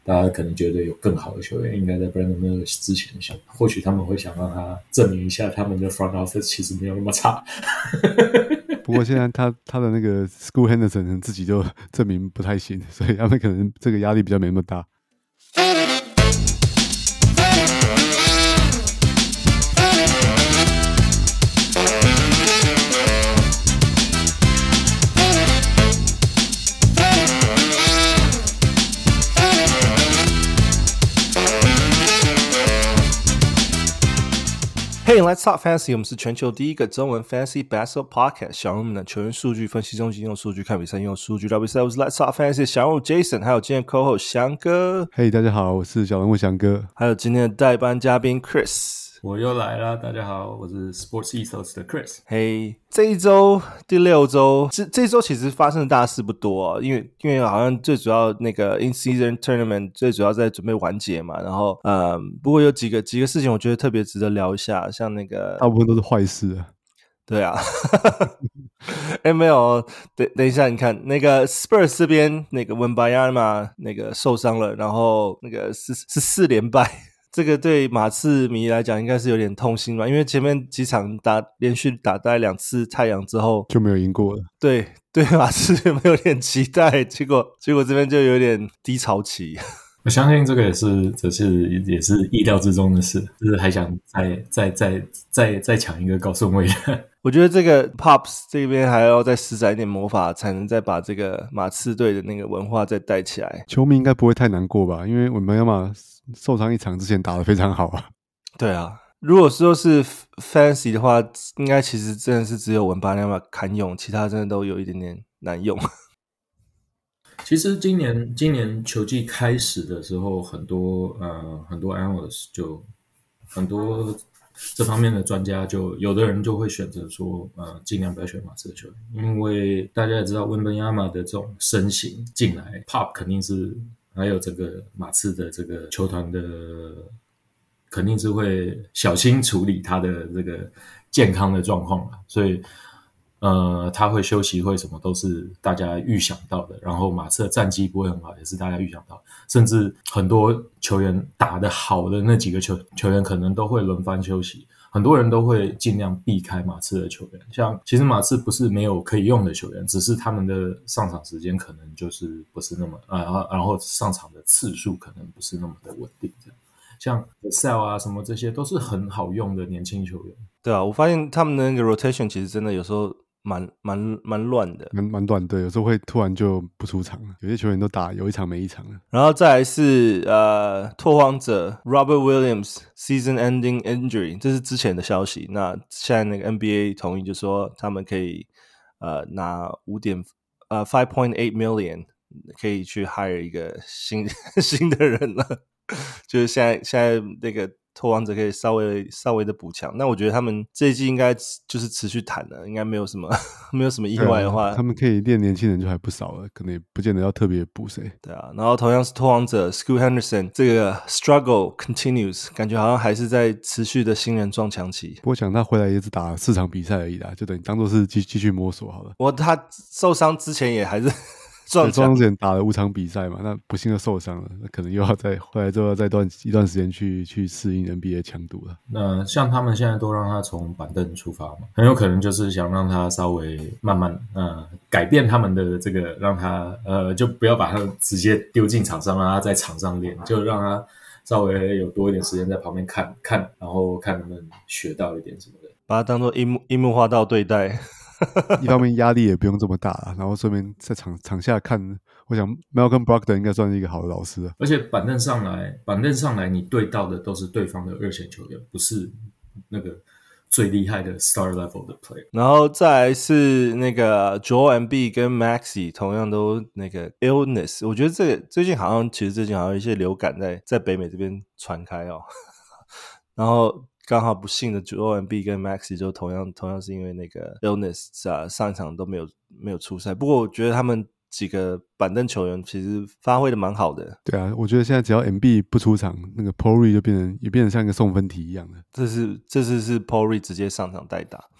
大家可能覺得有更好的球員應該在 Brandon Miller 之前選，或許他們會想讓他證明一下他們的 front office 其實沒有那麼差。 不過現在他的那個 Scoot Henderson 自己就證明不太行，所以他們可能這個壓力比較沒那麼大。 Hey, let's talk fantasy. 我們是全球第一個中文 fantasy basketball podcast。小人物們的球員數據分析中心用數據看比賽，用數據聊比賽。我是 Let's talk fantasy 小人物 Jason， 還有今天 co-host 翔哥。 嘿，大家好，我是小人物翔哥。 還有今天的代班嘉賓 Chris。 我又來了，大家好，我是 Sports Ethos 的 Chris。 嘿，這一周第6周，這一周其實發生的大事不多啊，因為好像最主要那個 in-season tournament 最主要在準備完結嘛，然後不過有幾個事情我覺得特別值得聊一下，像那個大部分都是壞事啊。對啊，沒有，等一下，你看那個 Spurs 這邊那個 Wembanyama 那個受傷了，然後那個是4連敗。這個對馬刺迷來講應該是有點痛心吧，因為前面幾場連續打大概2次太陽之後就沒有贏過了。 對馬刺有沒有點期待？結果這邊就有點低潮期。 我相信這個也是意料之中的事，就是還想再搶一個高順位的。 我覺得這個 Pops 這邊還要再施展一點魔法，才能再把這個馬刺隊的那個文化再帶起來。 球迷應該不會太難過吧？因為Wembanyama受傷一場之前打得非常好啊。 對啊，如果說是 Fantasy 的話，應該其實真的是只有Wembanyama堪用，其他真的都有一點點難用。 其實今年球季開始的時候，很多 analysts 就很多這方面的專家，就有的人就會選擇說盡量不要選馬刺的球員，因為大家也知道Wembanyama的這種身形進來 ，Pop 肯定是還有整個馬刺的這個球團的肯定是會小心處理他的這個健康的狀況，所以他會休息會什麼都是大家預想到的，然後馬刺的戰績不會很好也是大家預想到的，甚至很多球員打得好的那幾個球員可能都會輪番休息，很多人都會盡量避開馬刺的球員，像其實馬刺不是沒有可以用的球員，只是他們的上場時間可能就是不是那麼然後上場的次數可能不是那麼的穩定這樣，像 Vassell 啊什麼這些都是很好用的年輕球員。 對啊，我發現他们的那個 rotation 其實真的有時候蠻亂的，蠻亂，對，有時候會突然就不出場了，有些球員都打有一場沒一場了。 然後再來是拓荒者 Robert Williams season ending injury， 這是之前的消息，那現在那個 NBA 同意就說他們可以拿5.8 million 可以去 hire 一個新的人了，就是現在那個拓荒者可以稍微的補強，那我覺得他們這一季應該就是持續談了，應該沒有什麼意外的話， 他們可以練年輕人就還不少了，可能也不見得要特別補誰。 對啊，然後同樣是拓荒者 Scoot Henderson 這個 struggle continues， 感覺好像還是在持續的新人撞牆期。 不過想他回來也只打4場比賽而已啦，就等於當作是繼續摸索好了。 他受傷之前也還是受傷之前打了5場比賽嘛，那不幸的受傷了，那可能又要回來之后要再一段时間去適應 NBA 強度了。 那像他們現在都讓他從板凳出發嘛，很有可能就是想讓他稍微慢慢改變他們的這個，讓他就不要把他直接丟進場上，讓他在場上練，就讓他稍微有多一點時間在旁邊看，然後看能不能學到一點什麼的， 把他當作櫻木花道對待。 一方面壓力也不用這麼大啦，然後順便在場下看，我想 Malcolm Brogdon 應該算是一個好的老師了。 而且板凳上來你對到的都是對方的二線球員，不是那個最厲害的 star level 的 player。 然後再來是那個 Joel Embiid 跟 Maxey 同樣都那個 illness， 我覺得這個最近好像有一些流感在北美這邊傳開哦，然後剛好不幸的 Joel Embiid 跟 Maxey 就同樣是因為那個 illness 上一場都沒有出賽。不過我覺得他們幾個板凳球員其實發揮的蠻好的。 對啊，我覺得現在只要 Embiid 不出場，那個 Paul Reed 就變成像一個送分題一樣的。 這次是 Paul Reed 直接上場代打。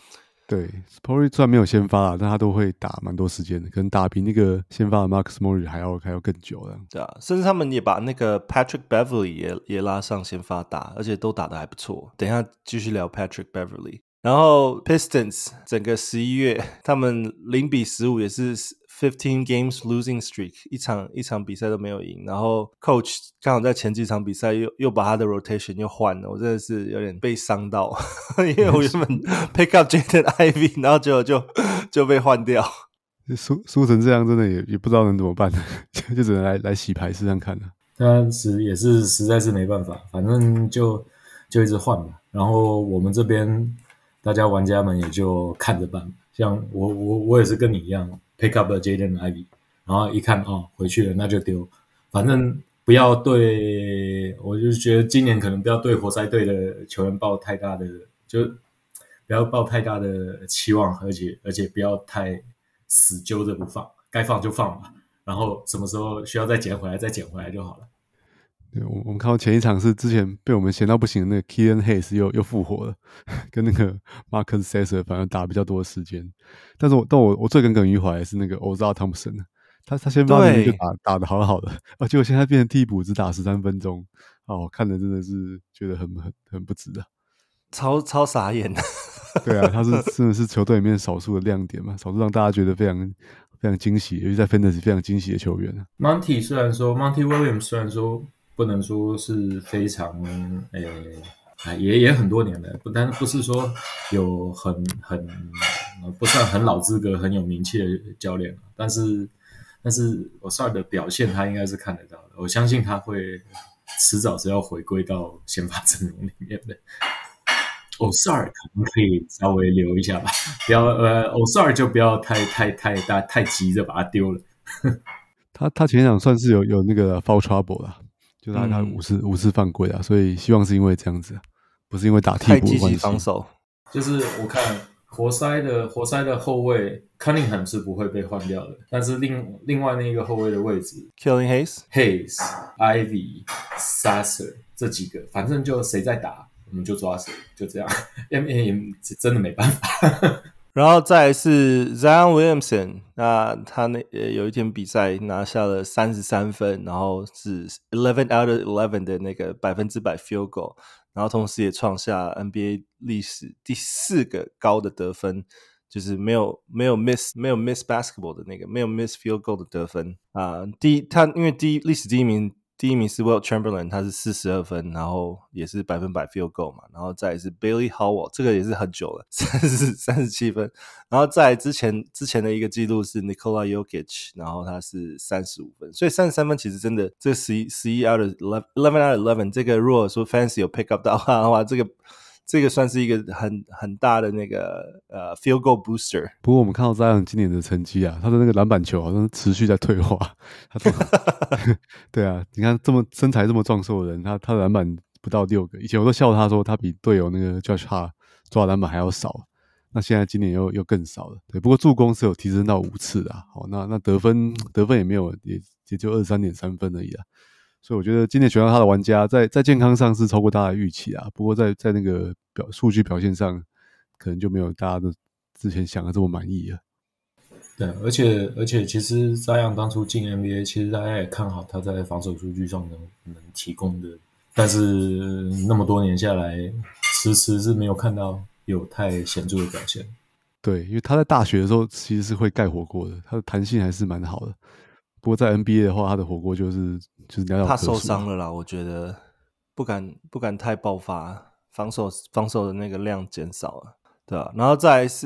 對 ，Spory 雖然沒有先發啦，但他都會打蠻多時間的，可能打比那個先發的 Marcus Morris 還要更久的。 對啊，甚至他們也把那個 Patrick Beverly 也拉上先發打，而且都打得還不錯。等一下繼續聊 Patrick Beverly。然後 Pistons 整個11月他們0-15也是15 games losing streak， 一場比賽都沒有贏。然後 Coach 剛好在前幾場比賽又把他的 rotation 又換了，我真的是有點被傷到，因為我原本 pick up Jaden Ivey， 然後結果就被換掉。 輸成這樣，真的也不知道能怎麼辦，就只能來洗牌試試看了。 但也是實在是沒辦法，反正就一直換嘛。然後我們這邊大家玩家們也就看着辦。像我也是跟你一樣 pick up 了 Jaden Ivey， 然後一看回去了那就丟，反正不要对，我就覺得今年可能不要對活塞隊的球員抱太大的，就不要抱太大的期望，而且不要太死揪着不放，該放就放吧，然後什麼時候需要再撿回來就好了。 对，我們看到前一場是之前被我們嫌到不行的那個 Killian Hayes 又復活了，跟那個 Marcus Sasser 反而打比較多的時間。但我最耿耿於懷的是那個 Ozar Thompson， 他先發明就打得好好的，結果現在變成替補只打13分鐘，我看的真的是覺得很不值啊， 超傻眼的。 对啊，他真的是球隊裡面少數的亮點嘛，少數讓大家覺得非常非常驚喜，尤其在 Fantasy 非常驚喜的球員啊。 Monty Williams 雖然說不能說是非常也很多年了，但不是說有很不算很老資格很有名氣的教練，但是Ozar的表現他應該是看得到的，我相信他會遲早是要回歸到先發陣容裡面的。Ozar 可能可以稍微留一下吧，不要Ozar 就不要太急着把他丟了。 他前一場算是有那個 foul trouble 啦，就他五次犯規啊，所以希望是因為這樣子，不是因為打替補的關係。太積極防守， 就是我看活塞的後衛 Cunningham 是不會被換掉的，但是另外那個後衛的位置 Killian Hayes、Ivey、Sasser 這幾個，反正就誰在打我們就抓誰，就這樣。NBA 真的沒辦法。 然後再來是 Zion Williamson， 那他有一天比賽拿下了33分，然後是11 out of 11的那個100% field goal， 然後同時也創下 NBA 歷史第4個高的得分，就是沒有 miss basketball 的那個，沒有 miss field goal 的得分啊。他因為歷史第一名是 Wilt Chamberlain， 他是42分，然後也是100% field goal 嘛，然後再來是 Bailey Howell， 這個也是很久了37分，然後再來之前的一個記錄是 Nikola Jokic， 然後他是35分，所以33分其實真的這11 out of 11 out of 11， 這個如果說 Fantasy 有 pick up 到的話，這個算是一個很大的那個field goal booster。 不過我們看到Zion今年的成績啊，他的那個籃板球好像持續在退化。對啊，你看身材這麼壯碩的人，他的籃板不到6個。以前我都笑他說他比隊友那個 Josh Hart 抓籃板還要少。那現在今年又更少了。对，不過助攻是有提升到5次的。好，那得分也沒有，也就 23.3 分而已啦。所以我覺得今年選到他的玩家在健康上是超過大家的預期啊，不過在那個數據表現上，可能就沒有大家的之前想的這麼滿意了。 對，而且其實Zion當初進 NBA， 其實大家也看好他在防守數據上能提供的，但是那麼多年下來，遲遲是沒有看到有太顯著的表現。 對，因為他在大學的時候其實是會蓋火鍋的，他的彈性還是蠻好的。不過在 NBA 的話，他的火鍋就是寥寥可數。 他受傷了啦，我覺得不敢太爆發，防守的那個量減少了，對吧？然後再來是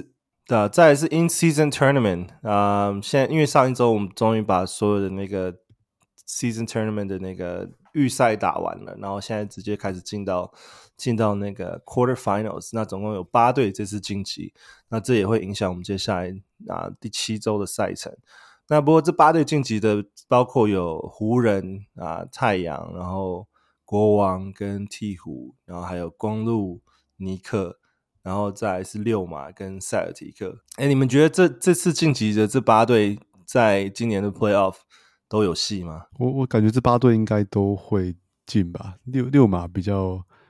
in season tournament， 現在因為上一周我們終於把所有的那個 season tournament 的那個預賽打完了，然後現在直接開始進到那個 quarter finals， 那總共有8隊這次晉級，那這也會影響我們接下來第7周的賽程。那不過這8隊晉級的包括有湖人太陽，然後國王跟鵜鶘，然後還有公鹿、尼克，然後再來是溜馬跟塞爾提克。你們覺得這次晉級的這8隊在今年的 playoff 都有戲嗎？ 我感覺這8隊應該都會進吧。溜馬比較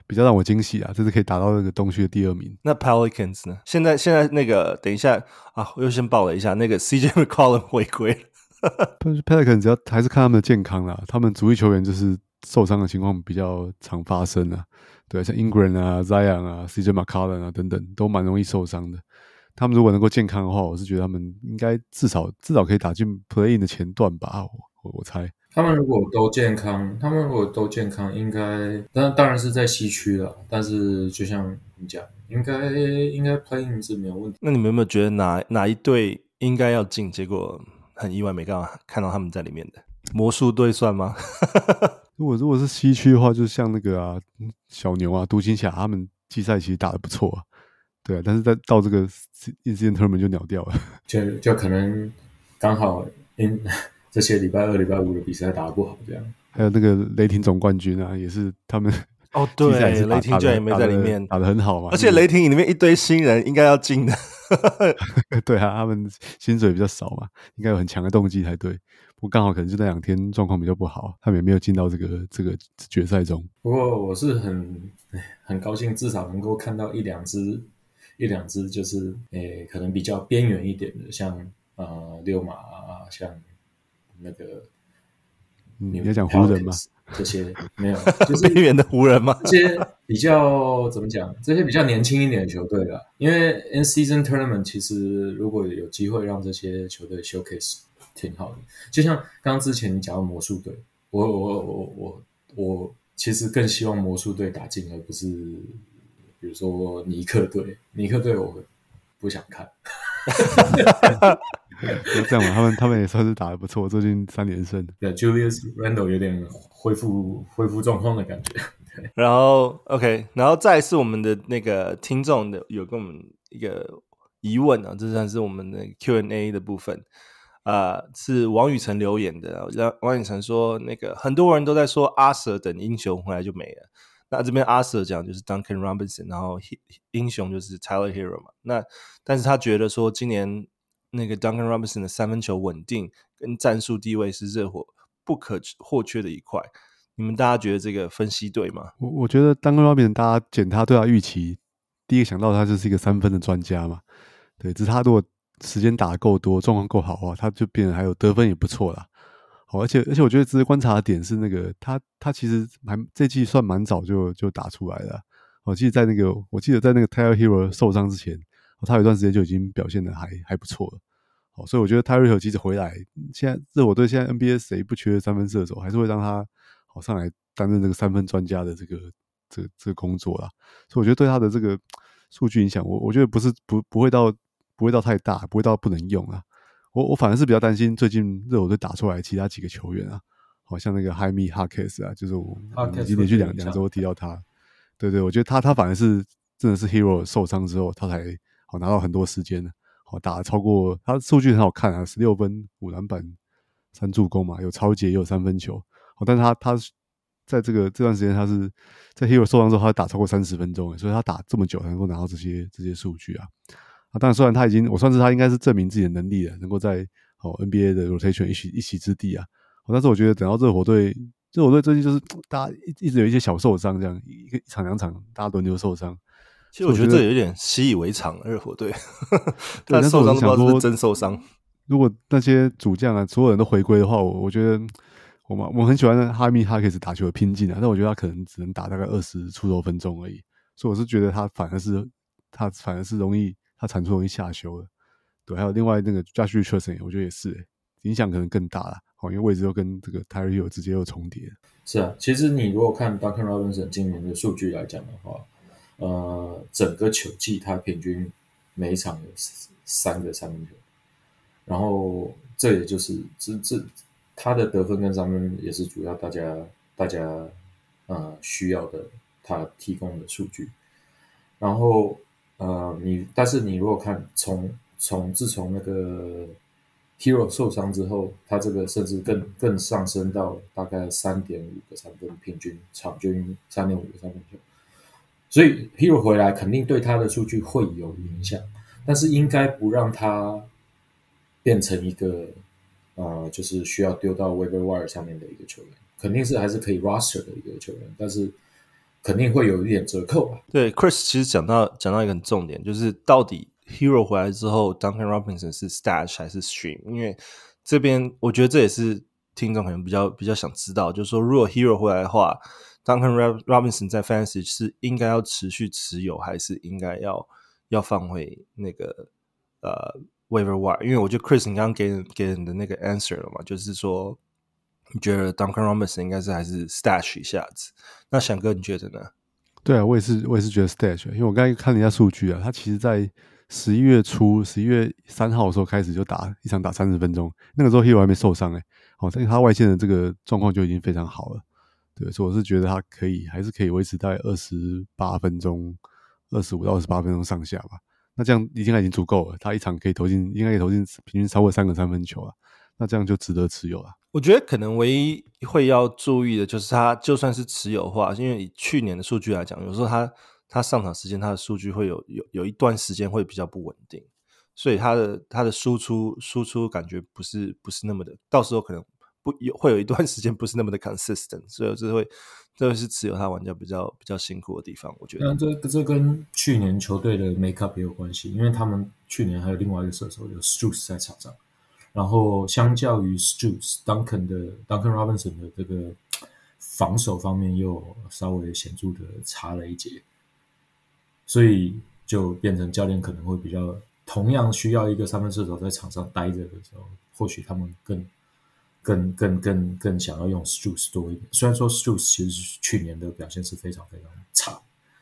比較讓我驚喜啊，這次可以打到那個東區的第2名。 那 Pelicans 呢？現在那個，等一下啊，我又先報了一下，那個 CJ McCollum 回歸了。 Pelicans 只要還是看他們的健康啦，他們主力球員就是受傷的情況比較常發生啊。對，像 Ingram 啊、Zion 啊、CJ McCollum 啊等等，都蠻容易受傷的。他們如果能夠健康的話，我是覺得他們應該至少可以打進 Play-in 的前段吧，我猜。 他們如果都健康，應該當然是在西區了。但是就像你講，應該 Play-in 是沒有問題。 那你們有沒有覺得哪一隊應該要進，結果很意外沒看到他們在裡面的？魔術隊算嗎？ 如果是西區的話，就像那個啊小牛啊、獨行俠他們季賽其實打得不錯啊，對啊，但是到這個 In-Season Tournament 就鳥掉了， 就可能剛好這些禮拜2、禮拜5的比賽打得不好，這樣。 還有那個雷霆總冠軍啊，也是他們哦，對，雷霆居然也沒在裡面， 打得很好嘛。 而且雷霆裡面一堆新人，應該要進的。 對啊，他們薪水比較少嘛，應該有很強的動機才對。不過剛好可能就那2天狀況比較不好，他們也沒有進到這個決賽中。 不過我是很高興，至少能夠看到一兩支，就是可能比較邊緣一點的，像溜馬啊，像那個你在講湖人嗎？ 這些沒有，就是邊緣的湖人嗎？ 這些比較怎麼講？這些比較年輕一點的球隊啦，因為 In-Season Tournament 其實如果有機會讓這些球隊 showcase 挺好的。就像剛之前你講的魔術隊，我其實更希望魔術隊打進，而不是比如說尼克隊。尼克隊我不想看。 就這樣嘛，他們也算是打得不錯，最近3連勝。 對 ，Julius Randle 有點恢復狀況的感覺。對， 然後 OK， 然後再是我們的那個聽眾的有跟我們一個疑問啊，这算是我們的 Q&A 的部分。是王宇成留言的。王宇成說，那個很多人都在說阿 Sir 等英雄回來就沒了。那這邊阿 Sir 講就是 Duncan Robinson， 然後英雄就是 Tyler Hero 嘛。但是他覺得說今年那個 Duncan Robinson 的3分球穩定跟戰術地位是熱火不可或缺的一塊。你們大家覺得這個分析對嗎？ 我覺得 Duncan Robinson 大家檢他對他預期，第一個想到他就是一個3分的專家嘛。對，只是他如果時間打得夠多，狀況夠好的話，他就變得還有得分也不錯啦。好，而且我覺得值得觀察的點是那個他其實這季算蠻早就打出來了。我記得在那個 Tyler Hero 受傷之前，他有一段時間就已經表現得還不錯了。好，所以我覺得 Tyler Hero 其實回來，現在熱火隊現在 NBA 誰不缺3分射手，還是會讓他好上來擔任這個3分專家的這個工作啦。所以我覺得對他的這個數據影響，我覺得不會到太大，不會到不能用啊。我反而是比較擔心最近熱火隊打出來其他幾個球員啊，好像那個 Jaime Jaquez 啊，就是我已經連續兩周提到他。對，我覺得他反而是真的是 Hero 受傷之後，他才好拿到很多時間了，好打了超過他數據很好看啊，16分5籃板3助攻嘛，有抄截也有3分球。好，但是他在這段時間他是在 Hero 受傷之後，他打超過30分鐘，所以他打這麼久才能夠拿到這些數據啊。當然，雖然我算是他應該是證明自己的能力了，能夠在NBA 的 rotation 一席之地啊。但是我覺得等到熱火隊最近就是大家一直有一些小受傷，這樣一場2場大家輪流受傷。 其實我覺得這有點習以為常，熱火隊他受傷都不知道是不是真受傷。 如果那些主將啊，所有人都回歸的話，我覺得我很喜歡Jaime Jaquez打球的拼勁啊，但我覺得他可能只能打大概20出頭分鐘而已。所以我是覺得他反而是容易。他產出容易下修了，對，還有另外那個 Josh Richardson， 我覺得也是，影響可能更大啦，因為位置又跟這個 Tyler Hero 直接又重疊。是啊，其實你如果看 Duncan Robinson 今年的數據來講的話，整個球季他平均每一場有3個3分球，然後這也就是他的得分跟3分也是主要大家需要的他提供的數據，然後。但是你如果看自從那个 Hero 受傷之後，他這個甚至更上升到大概 3.5 個3分，平均場均 3.5 個3分球，所以 Hero 回來肯定對他的數據會有影響，但是應該不讓他變成一個就是需要丟到 waiver wire 上面的一個球員，肯定是還是可以 roster 的一個球員，但是肯定會有一點折扣吧。 對 ，Chris 其實講到一個很重點，就是到底 Hero 回來之後 ，Duncan Robinson 是 Stash 還是 Stream？ 因為這邊我覺得這也是聽眾可能比較想知道，就是說如果 Hero 回來的話 ，Duncan Robinson 在 Fantasy 是應該要持續持有，還是應該要放回那個Waiver Wire？ 因為我覺得 Chris 你剛剛給人的那個 answer 了嘛，就是說你覺得 Duncan Robinson 應該是還是 Stash 一下子？那翔哥你覺得呢？ 对啊，我也是覺得 Stash， 因為我剛才看了一下數據啊，他其實在11月初11月3號的時候開始就一場打30分鐘，那個時候 Hero 還沒受傷但是他外線的這個狀況就已經非常好了，對，所以我是覺得他還是可以維持在28分鐘25到28分鐘上下吧，那這樣應該已經足夠了，他一場應該可以投進平均超過3個三分球了，那這樣就值得持有了。 我覺得可能唯一會要注意的就是他就算是持有的話，因為以去年的數據來講，有時候他上场时间他的数据会有一段时间会比較不穩定，所以他的輸出感覺不是那麼的，到時候可能會有一段時間不是那麼的 consistent， 所以這會是持有他玩家比較辛苦的地方，我覺得。 那這跟去年球隊的 make up 也有關係，因為他們去年還有另外一個射手有 Strus 在場上。然後相較於 Strus，Duncan Robinson 的這個防守方面又稍微顯著的差了一截，所以就變成教練可能會比較同樣需要一個三分射手在場上待着的時候，或許他們更想要用 Strus 多一點。雖然說 Strus 其實去年的表現是非常非常差，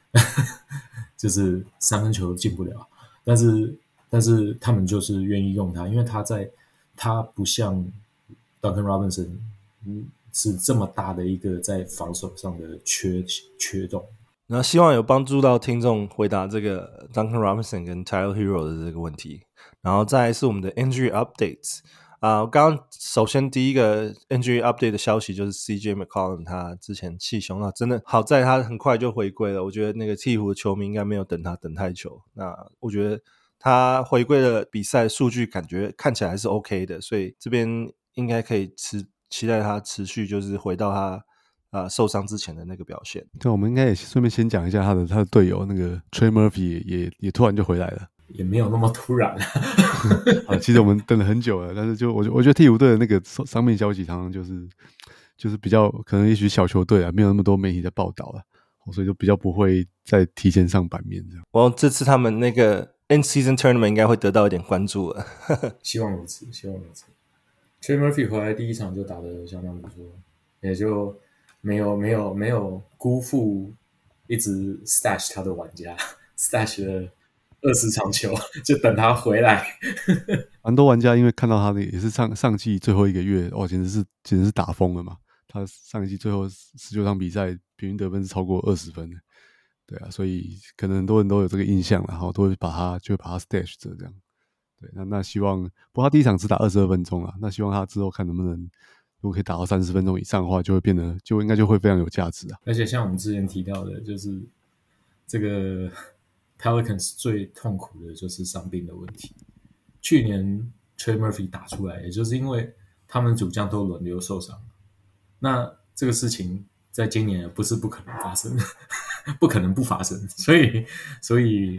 就是三分球進不了，但是他們就是願意用他，因為他不像 Duncan Robinson 是這麼大的一個在防守上的缺洞。 然後希望有幫助到聽眾回答這個 Duncan Robinson 跟 Tyler Hero 的這個問題。然後再來是我們的 Injury Updates 剛剛首先第一個 Injury Update 的消息就是 CJ McCollum 他之前氣胸，那真的好在他很快就回歸了，我覺得那個鵜鶘的球迷應該沒有等他等太久，那我覺得他回歸的比賽數據感覺看起來還是 OK 的，所以這邊應該可以期待他持續就是回到他受傷之前的那個表現。 对，我們應該也順便先講一下他的隊友那個 Trey Murphy 也突然就回來了， 也沒有那麼突然其實我們等了很久了，但是就我覺得鵜鶘隊的那個傷病消息常常就是比較可能也許小球隊沒有那麼多媒體在報道了，所以就比較不會再提前上版面這樣。 這次他們那個In-season tournament 應該會得到一點關注了希望如此。Trey Murphy 回來第一場就打得相當不錯，也就沒有辜負一直 stash 他的玩家 stash 了20場球，就等他回來。 蠻多玩家因為看到他的也是上季最後一個月，簡直是打瘋了嘛！他上一季最後19場比賽平均得分是超過20分的。對啊，所以可能很多人都有這個印象，然後都會把他 stash 着這樣。對，那希望，不過他第一場只打22分鐘啦，那希望他之後看能不能，如果可以打到30分鐘以上的話，就應該就會非常有價值啊。 而且像我們之前提到的，就是這個 Pelicans 最痛苦的就是傷病的問題。去年 Trey Murphy 打出來，也就是因為他們主將都輪流受傷，那這個事情在今年不是不可能發生。不可能不發生，所以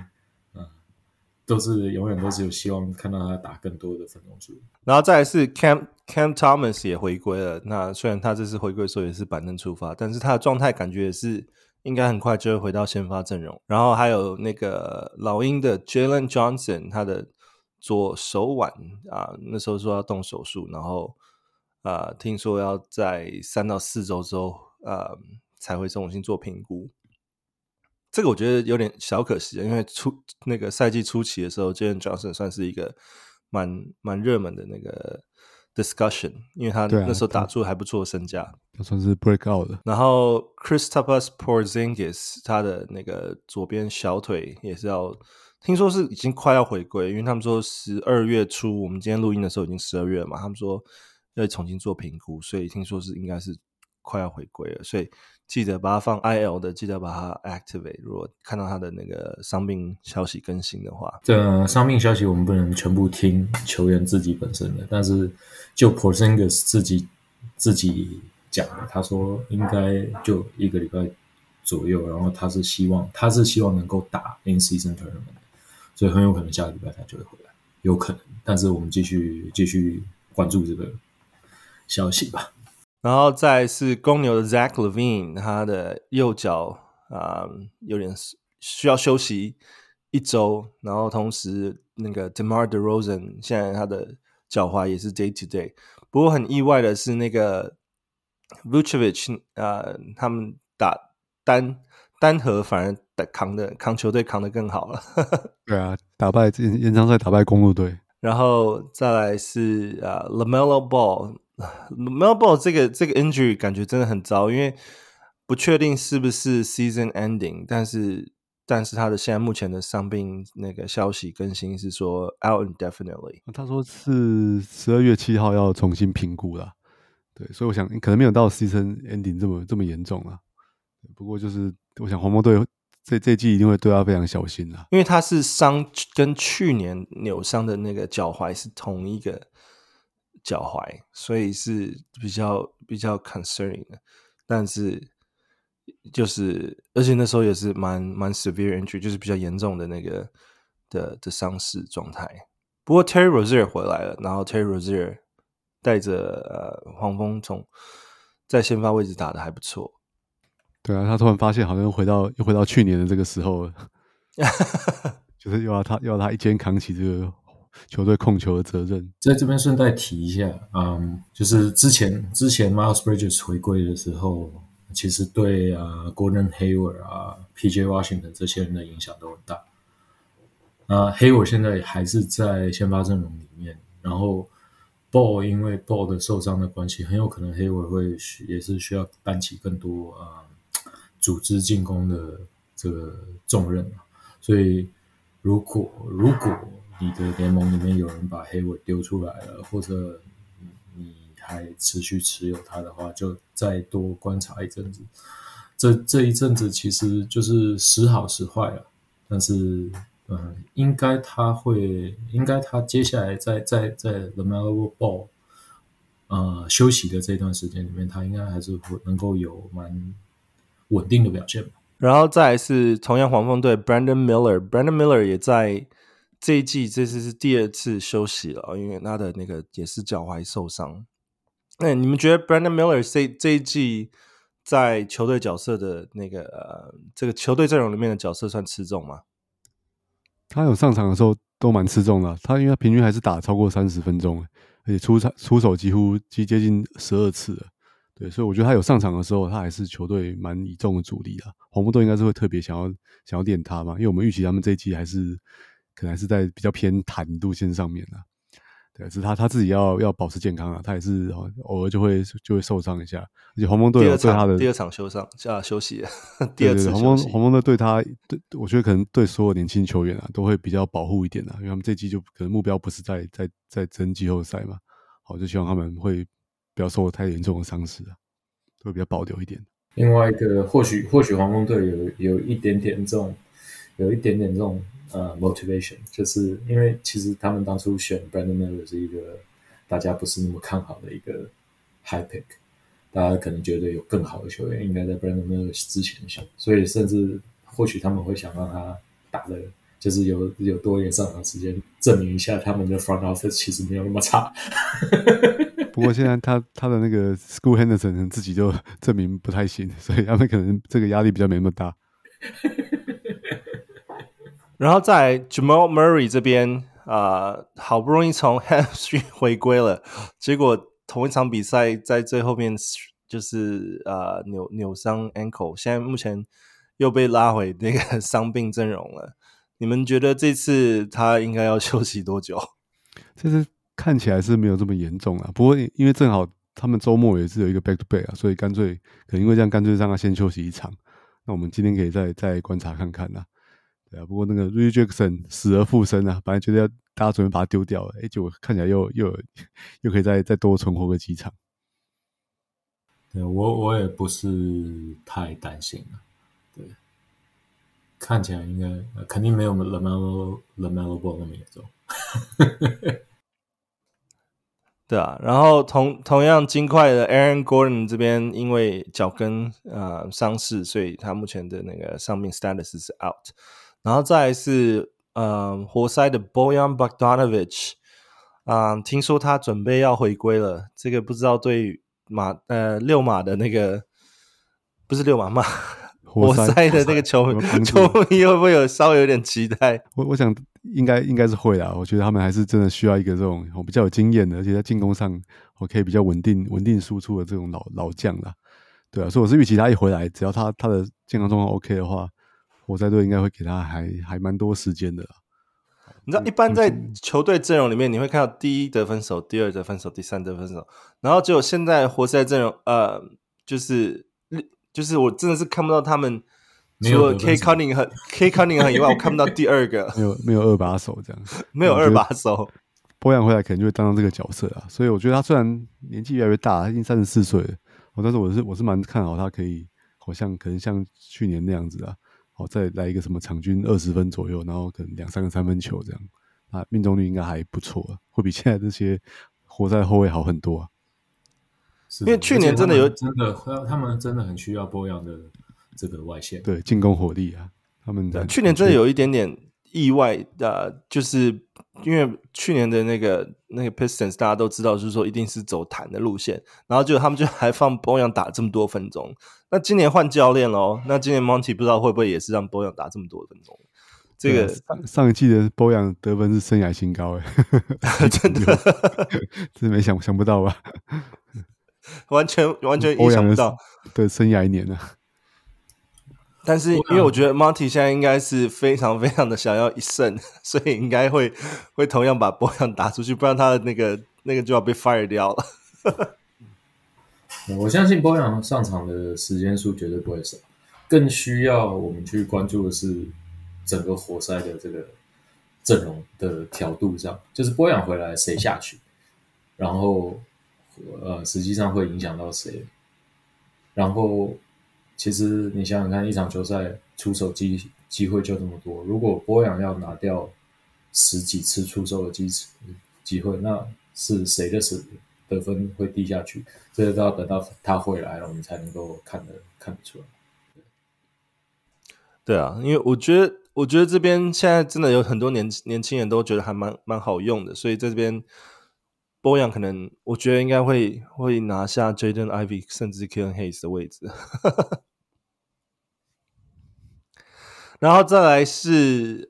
永遠都是有希望看到他打更多的分鐘數。 然後再來是 Cam Thomas 也回歸了，那雖然他這次回歸的時候也是板凳出發，但是他的狀態感覺也是應該很快就會回到先發陣容。然後還有那個老鷹的 Jalen Johnson， 他的左手腕那時候說要動手術，然後聽說要在3到4周之後才會重新做評估。這個我覺得有點小可惜，因為那個賽季初期的時候 Jalen Johnson 算是一個蠻熱門的那個 discussion， 因為他那時候打出還不錯的身價， 他算是 break out 的。 然後 Kristaps Porzingis 他的那個左邊小腿也是聽說是已經快要回歸，因為他們說12月初，我們今天錄音的時候已經12月了嘛，他們說要重新做評估，所以聽說是應該是快要回歸了，所以記得把它放 IL 的，记得把它 activate。如果看到他的那個傷病消息更新的話， 這傷病消息我們不能全部聽球員自己本身的，但是就 Porzingis 自己講的，他說應該就1個禮拜左右，然後他是希望能夠打 in-season tournament， 所以很有可能下個禮拜他就會回來，有可能。但是我們繼續關注這個消息吧。 然後再來是公牛的 Zach LaVine， 他的右腳有點需要休息1周，然後同時那個 DeMar DeRozan 現在他的腳踝也是 day to day。不過很意外的是那個 Vucevic 他們打單核反而扛球隊扛得更好了。 对啊，延長賽打敗公鹿隊。 然後再來是LaMelo Ball。LaMelo Ball 這個 injury 感覺真的很糟，因為不確定是不是 season ending， 但是他的現在目前的傷病那個消息更新是說 out indefinitely。 他說是12月7號要重新評估啦，對，所以我想可能沒有到 season ending 這麼嚴重啦。不過就是我想黃蜂隊這季一定會對他非常小心啦， 因為他是傷跟去年扭傷的那個腳踝是同一個腳踝，所以是比較 concerning 的。但是就是而且那時候也是蠻 severe injury， 就是比較嚴重的那個的傷勢狀態。不過 Terry Rozier 回來了，然後 Terry Rozier 帶着黃蜂在先發位置打得還不錯。 對啊，他突然發現好像又回到去年的這個時候了，就是又要他一肩扛起這個球隊控球的責任。 在這邊順帶提一下，就是之前 Miles Bridges 回歸的時候，其實對Gordon Hayward PJ Washington 這些人的影響都很大。Hayward 現在還是在先發陣容裡面，然後 Ball 因為 Ball 的受傷的關係，很有可能 Hayward 也是需要擔起更多組織進攻的這個重任，所以如果你的聯盟裡面有人把 Hayward 丟出來了，或者你還持續持有他的話，就再多觀察一陣子。這一陣子其實就是時好時壞了，但是應該他接下來在 LaMelo Ball 休息的這段時間裡面，他應該還是能夠有蠻穩定的表現。 然後再來是同樣黃蜂隊 Brandon Miller 也在這一季這次是第2次休息了，因為他的那個也是腳踝受傷。那你們覺得 Brandon Miller 這一季在球隊角色的那個這個球隊陣容裡面的角色算吃重嗎？ 他有上場的時候都蠻吃重的，他因為他平均還是打超過30分鐘，而且出手幾乎接近12次了。對，所以我覺得他有上場的時候，他還是球隊蠻倚重的主力啦。黃蜂隊應該是會特別想要練他嘛，因為我們預期他們這一季可能還是在比較偏彈路線上面啦。對，只是他自己要保持健康啊，他也是偶爾就會受傷一下。而且黄蜂隊對他的第二場休息了，第二次休息。黄蜂队对他，我覺得可能对所有年輕球員都會比較保護一點啊，因為他們這季就可能目標不是在爭季後賽嘛，好，就希望他們會不要受太嚴重的傷勢啊，會比較保留一點。 另外一個，或許黃蜂隊有一點點這種motivation， 就是因為其實他們當初選 Brandon Miller 是一個大家不是那麼看好的一個 high pick， 大家可能覺得有更好的球員應該在 Brandon Miller 之前選，所以甚至或許他們會想讓他打的，就是有多一點上場時間，證明一下他們的 front office 其實沒有那麼差。 不過現在他的那個 Scoot Henderson 自己就證明不太行，所以他們可能這個壓力比較沒那麼大。 然後在 Jamal Murray 這邊好不容易從 hamstring 回歸了，結果同一場比賽在最後面就是扭傷 ankle， 現在目前又被拉回那個傷病陣容了。你們覺得這次他應該要休息多久？ 這次看起來是沒有這麼嚴重啦，不過因為正好他們周末也是有一個 back to back 啊，所以可能因為這樣乾脆讓他先休息一場。那我們今天可以再觀察看看啦。對啊，不過那個 Reggie Jackson 死而復生啊，本來覺得大家準備把他丟掉了，結果看起來又可以再多存活個幾場。 對，我也不是太擔心了。對，看起来應該肯定沒有 LaMelo Ball 那麼嚴重。 對啊，然後同樣金塊的 Aaron Gordon 這邊因為腳跟傷勢，所以他目前的那個傷病 status 是 out。然後再來是活塞的 Bojan Bogdanovic，聽說他準備要回歸了，這個不知道對六馬的那個不是六馬嘛，活塞的那個球迷會不會稍微有點期待？ 我想應該是會啦。我覺得他們還是真的需要一個這種比較有經驗的，而且在進攻上可以比較穩定輸出的這種老將啦。對啊，所以我是預期他一回來，只要他的健康狀況 OK 的話，活塞隊應該會給他還蠻多時間的啦。 你知道，一般在球隊陣容裡面，你會看到第一得分手、第二得分手、第三得分手，然後只有現在活塞陣容，就是我真的是看不到他們除了 K Cunningham 以外，我看不到第二個， 沒有二把手這樣， 沒有二把手。 波揚回來可能就會當這個角色啊，所以我覺得他雖然年紀越來越大，他已經34歲了，但是我是蠻看好他可以，可能像去年那樣子啊。再來一個什麼場均20分左右，然後可能2-3個3分球這樣，命中率應該還不錯啊，會比現在這些活塞後衛好很多啊。 因為去年真的他們真的很需要波揚的這個外線， 對進攻火力啊，他們去年真的有一點點意外就是因為去年的那個 Pistons 大家都知道，就是說一定是走彈的路線，然後他們就還放波揚打這麼多分鐘。那今年換教練咯，那今年 Monty 不知道會不會也是讓波揚打這麼多分鐘？這個上一季的波揚得分是生涯新高真的， 真沒想不到吧？ 完全意想不到， 對，生涯1年了。 但是因為我覺得 Monty 現在應該是非常非常的想要一勝，所以應該會同樣把波揚打出去，不然他的那個就要被 fire 掉了。 我相信波揚上場的時間數絕對不會少，更需要我們去關注的是整個活塞的這個陣容的調度上，就是波揚回來誰下去，然後實際上會影響到誰，然後其實你想想看，一場球賽出手機會就這麼多，如果波揚要拿掉10幾次出手的機會，那是誰的得分會低下去？這個都要等到他回來了，我們才能夠看得出來。 對啊，因為我覺得這邊現在真的有很多年輕人都覺得還蠻好用的，所以在這邊波揚可能我覺得應該會拿下 Jaden Ivey 甚至 Killian Hayes 的位置。然後再來是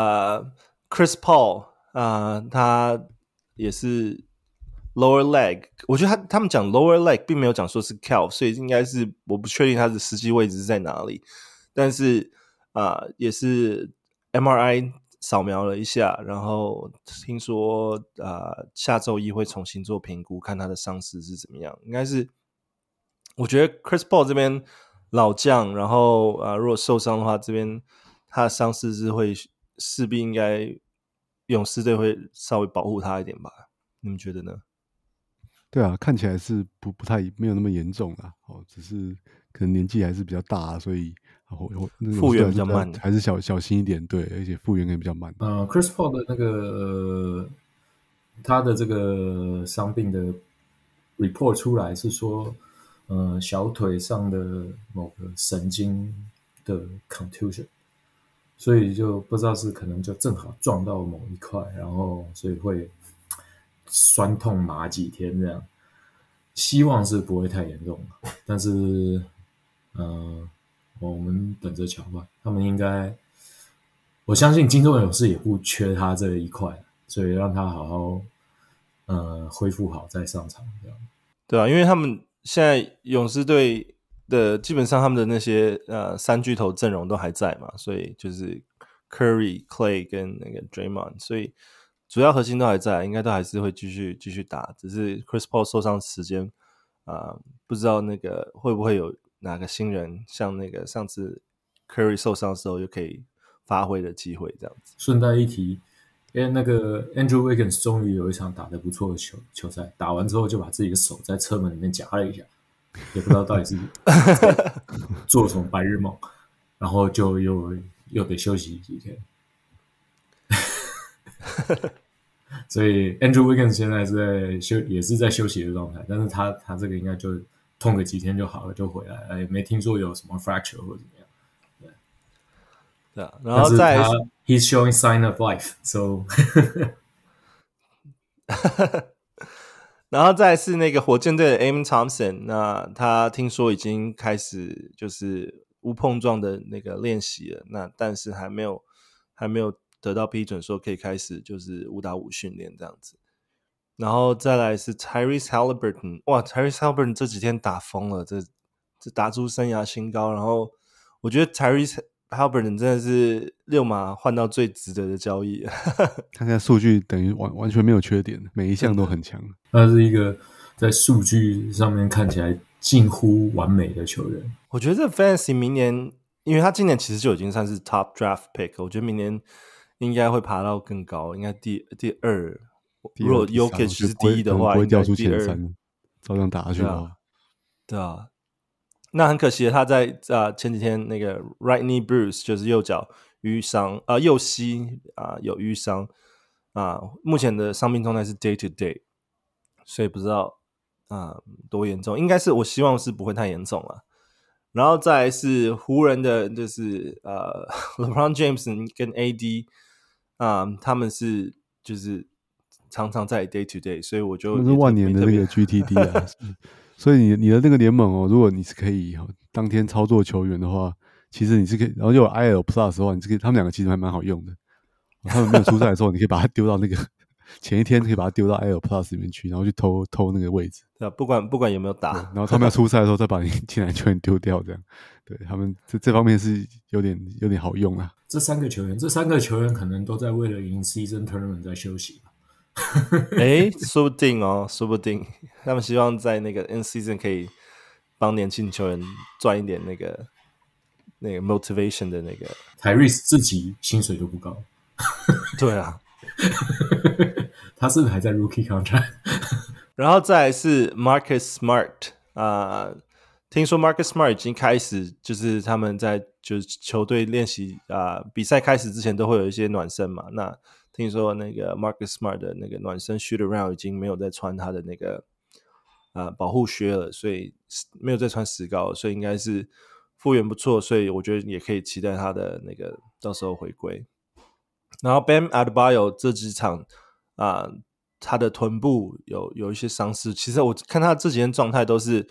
Chris Paul 他也是 lower leg， 我覺得他們講 lower leg 並沒有講說是 calf， 所以應該是我不確定他的實際位置是在哪裡，但是也是 MRI 掃描了一下，然後聽說下周一會重新做評估，看他的傷勢是怎麼樣。應該是我覺得 Chris Paul 這邊老將，然後如果受傷的話，這邊他的傷勢是會勢必應該勇士隊會稍微保護他一點吧？你們覺得呢？ 對啊，看起來是不太沒有那麼嚴重啦，只是可能年紀還是比較大，所以復原比較慢， 還是小心一點，对，而且復原也比較慢。 Chris Paul 的那個他的這個傷病的 report 出來是說，小腿上的某個神經的 contusion， 所以就不知道是可能就正好撞到某一塊，然後所以會酸痛麻幾天這樣，希望是不會太嚴重，但是我們等着瞧吧。他們應該，我相信金州勇士也不缺他這一塊，所以讓他好好恢復好再上場這樣。 對啊，因為他們現在勇士隊的基本上他們的那些三巨頭陣容都還在嘛，所以就是 Curry、Clay 跟那個 Draymond， 所以主要核心都還在，應該都還是会继續打，只是 Chris Paul 受傷時間不知道那個會不會有哪個新人像那個上次 Curry 受傷的時候又可以發揮的機會這樣子。 順帶一提，因為那個 Andrew Wiggins 終於有一場打得不錯的球賽，打完之後就把自己的手在車門裡面夾了一下，也不知道到底是做什麼白日夢，然後就又得休息幾天。 所以 Andrew Wiggins 現在也是在休息的狀態，但是他這個應該就痛個幾天就好了，就回來了，也沒聽說有什麼 fracture 或者怎麼樣。 對啊，然後再來 he's showing sign of life，so 然後再來是那個火箭隊的 Amen Thompson， 那他聽說已經開始就是無碰撞的那個練習了，那但是還沒有得到批准說可以開始就是5打5訓練這樣子。然後再來是 Tyrese Halliburton， 哇 Tyrese Halliburton 這幾天打瘋了，這打出生涯新高，然後我覺得 Tyrese Halliburton 真的是六馬換到最值得的交易。 他現在數據等於完全沒有缺點，每一項都很強。 他是一個在數據上面看起来近乎完美的球員。 我覺得這 Fantasy 明年，因為他今年其實就已經算是 Top Draft Pick， 我覺得明年應該會爬到更高，應該第二。如果 Jokic 是第一的话， 不會掉出前 3，照樣打下去的話。 對啊。那很可惜的，他在前幾天那個 right knee bruise 就是右腳淤傷右膝有淤傷目前的傷病狀態是 day to day， 所以不知道多嚴重，應該是我希望是不會太嚴重了。然後再來是湖人的，就是LeBron James 跟 AD 他們是就是常常在 day to day， 所以我就那是万年的那個 GTD 啊。所以你的那個聯盟哦，如果你是可以當天操作球員的話，其實你是可以，然後又有 IL Plus 的話，你是可以，他们兩個其實還蠻好用的。他們沒有出賽的時候，你可以把它丟到那個前一天可以把它丟到 IL Plus 裡面去，然後去偷那個位置。 對啊，不管有沒有打， 然後他们要出賽的時候再把你進來球員丟掉，這樣。對，他們這方面是有點好用啊。 這三個球員可能都在為了贏 Season Tournament 在休息吧。 說不定哦，說不定他們希望在那個 in season 可以幫年輕球員賺一點那個 motivation 的那個。 Tyrese 自己薪水都不高。 對啊， 他是不是還在 Rookie Contract？ 然後再來是 Marcus Smart 聽說 Marcus Smart 已經開始，就是他們在就是球隊練習比賽開始之前都會有一些暖身嘛，那聽說那個 Marcus Smart 的那個暖身 shoot around 已經沒有再穿他的那個保護靴了，所以沒有再穿石膏了，所以應該是復原不錯，所以我覺得也可以期待他的那個到時候回歸。然後 Bam Adebayo 這幾場他的臀部有一些傷勢，其實我看他這幾天狀態都是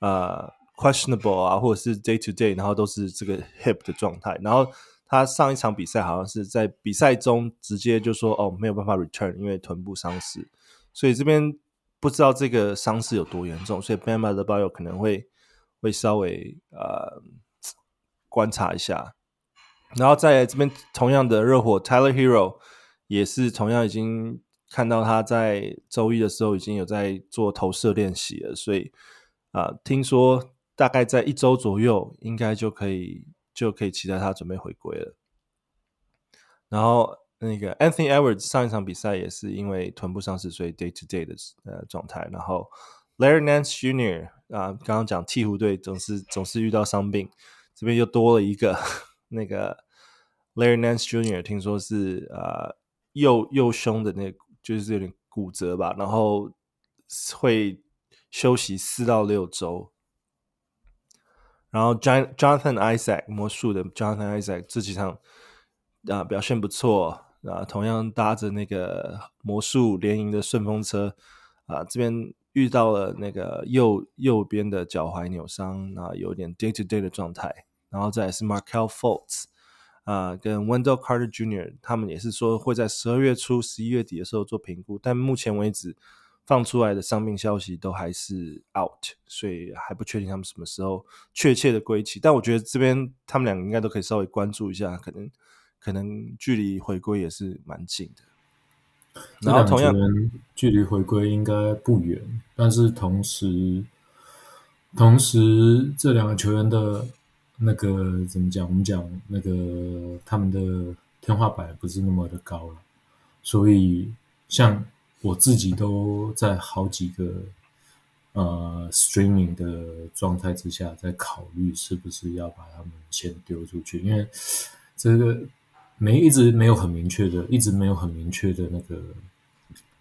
questionable 或者是 day to day， 然後都是這個 hip 的狀態，然後他上一場比賽好像是在比賽中直接就說沒有辦法 return， 因為臀部傷勢，所以這邊不知道這個傷勢有多嚴重，所以 Bam Adebayo 可能會稍微觀察一下。然後在這邊同樣的熱火 Tyler Hero 也是同樣已經看到他在周一的時候已經有在做投射練習了，所以聽說大概在1周左右應該就可以期待他準備回歸了。然後那個 Anthony Edwards 上一場比賽也是因為臀部傷勢，所以 day to day 的狀態。然後 Larry Nance Jr. 剛剛講鹈鶘隊總是遇到傷病，這邊又多了一個那個 Larry Nance Jr. 聽說是右胸的那個就是有點骨折吧，然後會休息4到6周。然後 Jonathan Isaac 魔術的 Jonathan Isaac 這幾場表現不錯同樣搭着那個魔術聯營的順風車這邊遇到了那個右邊的腳踝扭傷有點 day to day 的狀態。然後再來是 Markelle Fultz跟 Wendell Carter Jr. 他們也是說會在12月初11月底的時候做評估，但目前為止放出來的傷病消息都還是 out， 所以還不確定他們什麼時候確切的歸期。但我覺得這邊他們兩個應該都可以稍微關注一下，可能距離回歸也是蠻近的。然後同樣距離回歸應該不遠，但是同時這兩個球員的那個怎麼講？我們講那個他們的天花板不是那麼的高了，所以像我自己都在好幾個streaming 的狀態之下，在考慮是不是要把他們先丟出去，因為這個一直沒有很明確的那個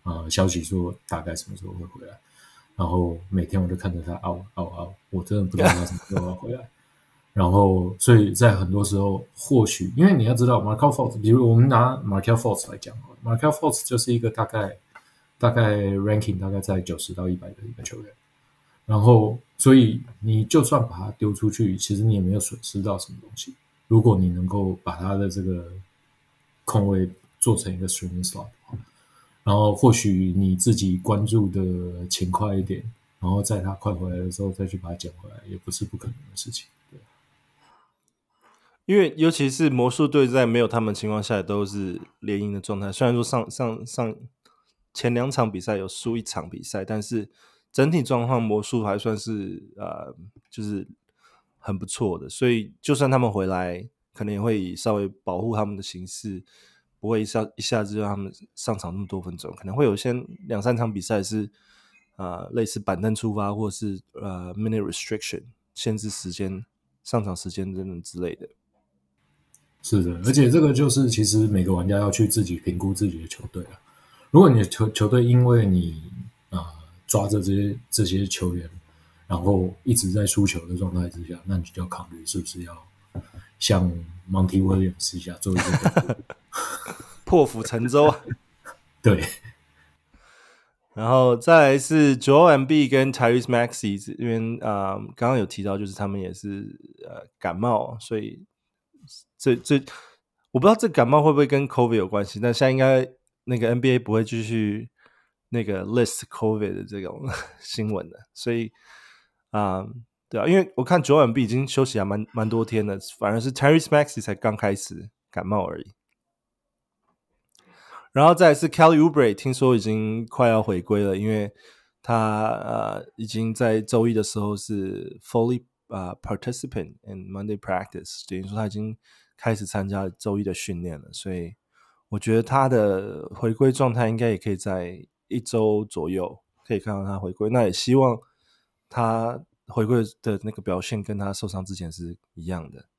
消息說大概什麼時候會回來，然後每天我就看着他嗷，我真的不知道他什麼時候要回來。然後，所以在很多時候，或許因為你要知道 Markelle Fultz， 比如我們拿 Markelle Fultz 来講 ，Markelle Fultz 就是一個大概 ranking 大概在90到100的一個球員。然後，所以你就算把他丟出去，其實你也沒有損失到什麼東西。如果你能夠把他的這個空位做成一個 streaming slot， 然後或許你自己關注的勤快一點，然後在他快回來的時候再去把他撿回来，也不是不可能的事情。对， 因為尤其是魔術隊在沒有他們情況下都是連贏的狀態，雖然說上前2場比賽有輸1場比賽，但是整體狀況魔術還算是就是很不錯的，所以就算他們回來，可能也會以稍微保護他們的形式，不會一下子就讓他們上場那麼多分鐘，可能會有些2-3場比賽是類似板凳出發，或是minute restriction 限制時間、上場時間等等之類的。 是的，而且這個就是其實每個玩家要去自己評估自己的球隊了。如果你的球隊因為你抓着這些球員，然後一直在輸球的狀態之下，那你就要考慮是不是要像 Monty Williams 一下做一個破釜沉舟啊。 对。 然後再來是 Joel Embiid 跟 Tyrese Maxey 因為剛剛有提到，就是他們也是感冒，所以這我不知道這感冒會不會跟 COVID 有關係，但現在應該那個 NBA 不會繼續那個 list COVID 的這種新聞的，所以對啊，因為我看Joel Embiid已經休息還蠻多天了，反而是 Tyrese Maxey 才剛開始感冒而已。然後再來是 Kelly Oubre， 聽說已經快要回歸了，因為他已經在周一的時候是 fully participant in Monday practice， 等於說他已經開始參加周一的訓練了，所以我覺得他的回歸狀態應該也可以在1周左右可以看到他回歸，那也希望他回歸的那個表現跟他受傷之前是一樣的。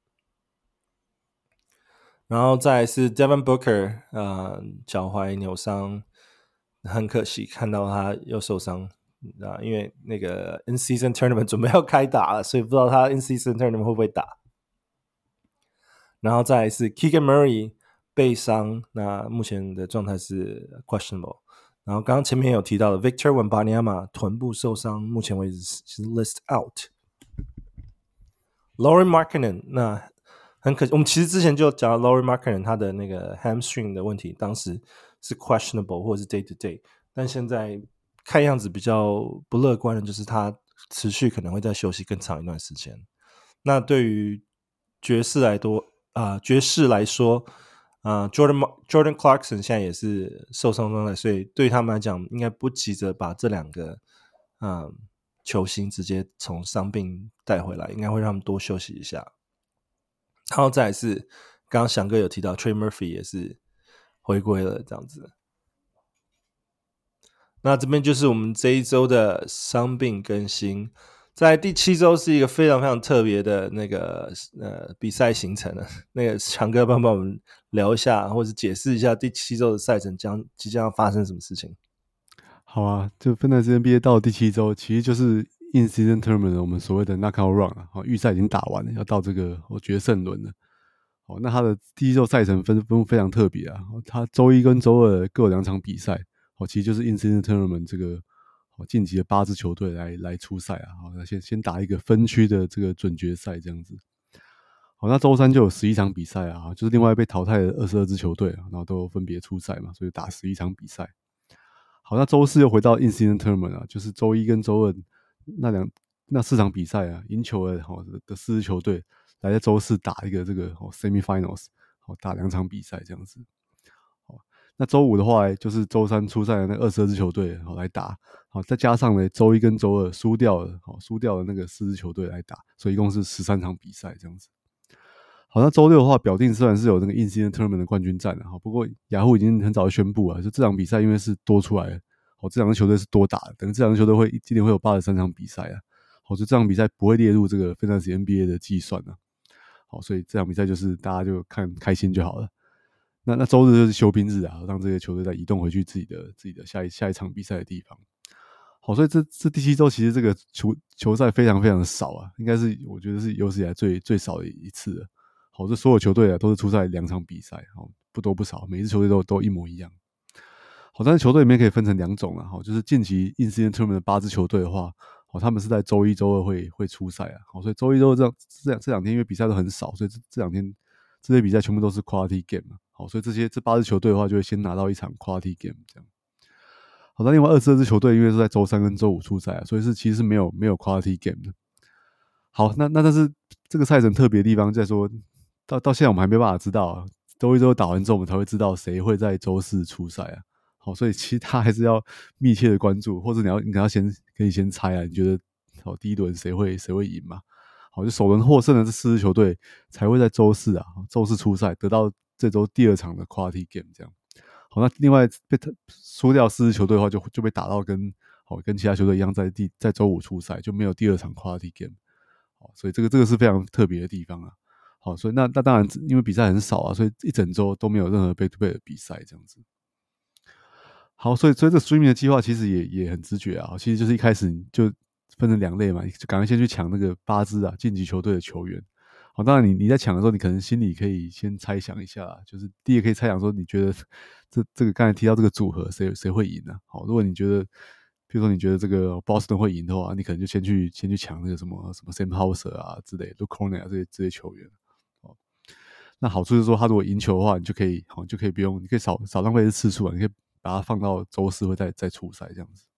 然後再來是 Devin Booker， 腳踝扭傷，很可惜看到他又受傷因為那個 In-Season Tournament 準備要開打了，所以不知道他 In-Season Tournament 會不會打。然後再來是 Keegan Murray 背傷，那目前的狀態是 questionable。然後剛剛前面有提到的 Victor Wembanyama 臀部受傷，目前為止是 list out。Lauri Markkanen 那很可惜，我們其實之前就講到 Lauri Markkanen 他的那個 hamstring 的問題，當時是 questionable 或者是 day to day， 但現在看樣子比較不樂觀的就是他持續可能會再休息更長一段時間。那對於爵士來說Jordan Clarkson 現在也是受傷狀態，所以對他們來講應該不急着把這2個球星直接從傷病帶回來，應該會讓他們多休息一下。然後再來是剛剛翔哥有提到 Trey Murphy 也是回歸了這樣子。那這邊就是我們這一周的傷病更新。在第7周是一個非常非常特別的那個比賽行程了。那個翔哥幫我們聊一下，或者解釋一下第7周的賽程即將要發生什麼事情。 好啊，就芬蘭斯 NBA 到第7周，其實就是 In-Season Tournament 我們所謂的 Knockout Run 啊，預賽已經打完了，要到這個決勝輪了。那他的第1周賽程分布非常特別啊，他周一跟周二各有2場比賽，其實就是 In-Season Tournament 這個晉級的8支球隊來出賽啊。那先打一個分區的這個準決賽這樣子。好，那周三就有11場比賽啊，就是另外被淘汰的22支球隊啊，然後都分別出賽嘛，所以打11場比賽。好，那周四又回到 In-Season Tournament 啊，就是周一跟周二那4場比賽啊，贏球的4支球隊來在周四打一個這個Semifinals， 打2場比賽這樣子。那周五的話，就是周三出賽的那22支球隊來打，再加上呢周一跟周二輸掉的那個4支球队來打，所以一共是13場比賽這樣子。好，那周六的話，表定雖然是有那個 In-Season Tournament 的冠軍戰了，不過雅虎已經很早就宣布了，就這場比賽因為是多出來的，這兩個球隊是多打的，等於這兩個球隊今年會有83場比賽啊，所以這場比賽不會列入這個 Fantasy NBA 的計算啊。好，所以這場比賽就是大家就看開心就好了。 那週日就是休兵日啊，讓這些球隊再移動回去自己的下一場比賽的地方。好，所以這第7週其實這個球賽非常非常的少啊，應該是我覺得是有史以來最少的一次了。好，這所有球隊啊都是出赛2場比賽，好，不多不少，每支球隊都一模一樣。好，但是球隊裡面可以分成2種啊，好，就是近期 In-Season Tournament 的8支球隊的話，好，他們是在週1、週2會出賽啊。好，所以週1、週2這兩天因為比賽都很少，所以這兩天這些比賽全部都是 Quality Game 啊。好，所以這8支球隊的話就會先拿到一場 Quality Game 這樣。好，那另外22支球隊因為是在週3跟週5出賽啊，所以其實是沒有 Quality Game 的。好，那但是這個賽程特別的地方在說，到現在我們還沒辦法知道啊，週1、週2打完之後我們才會知道誰會在週4出賽啊。好，所以其實他還是要密切的關注，或者你要可以先猜啊，你覺得好第一輪誰會贏嘛？好，就首輪獲勝的這4支球隊才會在週4出賽，得到這週第2場的 Quality Game 這樣。好，那另外被輸掉4支球隊的話就被打到跟其他球隊一樣在週5出賽，就沒有第2場 Quality Game。好，所以這個是非常特別的地方啊。好，所以那當然因為比賽很少啊，所以一整週都沒有任何 back-to-back 的比賽這樣子。好，所以這個 streaming 的計劃其實也很直覺啊，其實就是一開始就分成2類嘛，就趕快先去搶那個8支啊晉級球隊的球員。好，當然你在搶的時候，你可能心裡可以先猜想一下啦，就是第一個可以猜想說，你覺得這個剛才提到這個組合誰會贏呢？好，如果你覺得，比如說你覺得這個 Boston 會贏的話，你可能就先去搶那個什麼 Sam Hauser 啊之類的 Luke Cornet 啊這些球員。好，那好處是說，他如果贏球的話，你就可以不用，你可以少浪費的次數啊，你可以把它放到週4會再出賽這樣子。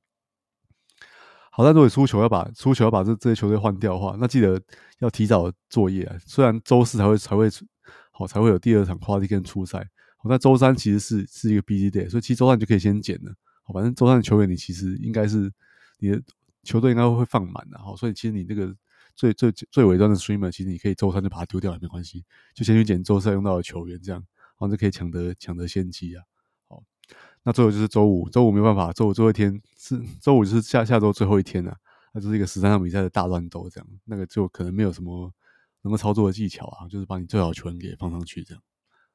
好，但如果輸球要把這些球隊換掉的話，那記得要提早作業啊。雖然週4才會有第2場 Quality Game 出賽，好，那週3其實是一個 busy day，所以其實週3你就可以先撿了。好，反正週3的球員你其實應該是你的球隊應該會放滿的。好，所以其實你那個最尾端的 streamer， 其實你可以週3就把它丟掉也沒關係，就先去撿週4用到的球員，這樣然後就可以搶得先機啊。好。那最後就是週5沒有辦法，週5最後一天是週5就是下週最後一天了，那就是一個13場比賽的大亂鬥，這樣那個就可能沒有什麼能夠操作的技巧啊，就是把你最好的球員給放上去這樣。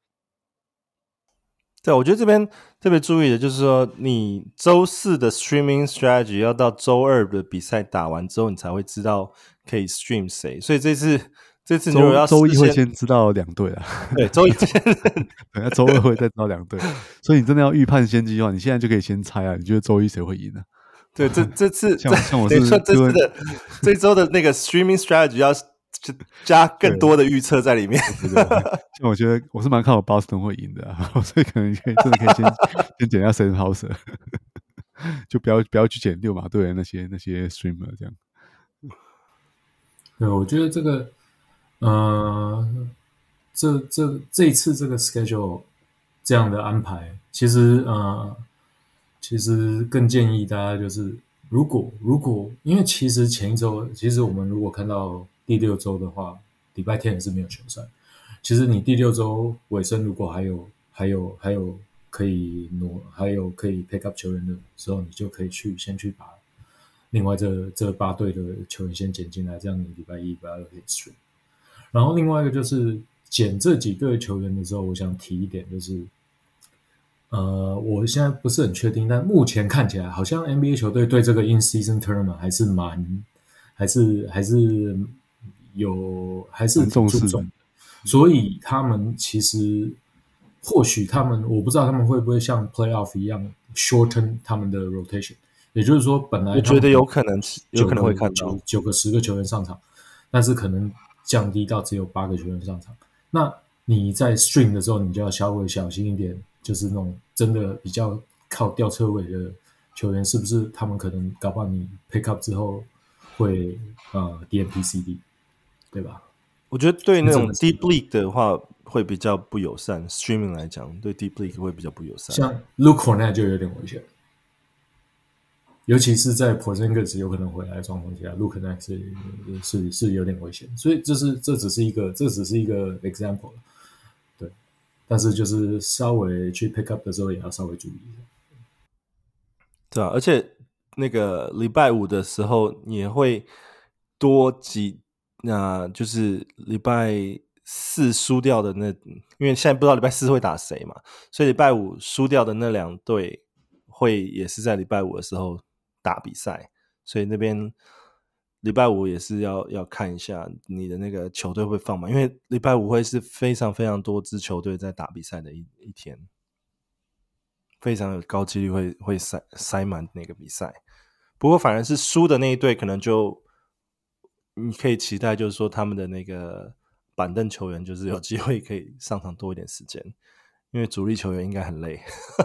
對，我覺得這邊特別注意的就是說，你週4的 streaming strategy 要到週2的比賽打完之後，你才會知道可以 stream 誰，所以這次你如果要週1會先知道2隊啊， 對，週1先對，週2會再知道2隊，所以你真的要預判先機的話，你現在就可以先猜啊，你覺得週1誰會贏呢？ 對，這次像我是這週的那個 streaming strategy 要加更多的預測在裡面。 對，像我覺得我是蠻看好 Boston 會贏的啊，所以可能真的可以先撿一下 Sam Hauser， 就不要去撿溜馬隊的那些 streamer 這樣。 對，我覺得這個。這一次這個 schedule 這樣的安排，其實更建議大家就是如果因為其實前一周，其實我們如果看到第6周的話，禮拜天也是沒有球賽。其實你第6周尾聲如果還有可以還有可以 pick up 球員的時候，你就可以先去把另外這8隊的球員先撿進來，這樣你禮拜1、禮拜2可以 stream。然後另外一個就是撿這幾個球員的時候，我想提一點，就是我現在不是很確定，但目前看起來好像 NBA 球隊對這個 In-Season Tournament 還是挺注重的，所以他們其實或許我不知道他們會不會像 Playoff 一樣 shorten 他們的 rotation， 也就是說本來我覺得有可能會看到 9個10個球員上場，但是可能降低到只有8個球員上場。那你在 stream 的時候，你就要稍微小心一點，就是那種真的比較靠吊車尾的球員，是不是他們可能搞不好你 pick up 之後會DNP-CD， 對吧？ 我覺得對那種 deep league 的話會比較不友善 ，streaming 來講对 deep league 會比較不友善。 像 Luke Cornet 就有點危險。尤其是在 Porzingis 有可能回来的狀況下 ，Luke Cornet 是有點危險，所以這只是一個 example， 對。但是就是稍微去 pick up 的時候也要稍微注意一下。 對啊，而且那個禮拜5的時候也會多幾，就是禮拜 4輸掉的那，因為現在不知道禮拜4會打誰嘛，所以禮拜5輸掉的那2隊會也是在禮拜5的時候打比賽，所以那邊禮拜5也是要看一下你的那個球隊會放嘛，因為禮拜5會是非常非常多支球隊在打比賽的一天，非常有高幾率會塞滿那個比賽。不過反而是輸的那一隊可能就你可以期待，就是說他們的那個板凳球員就是有機會可以上場多一點時間，因為主力球員應該很累。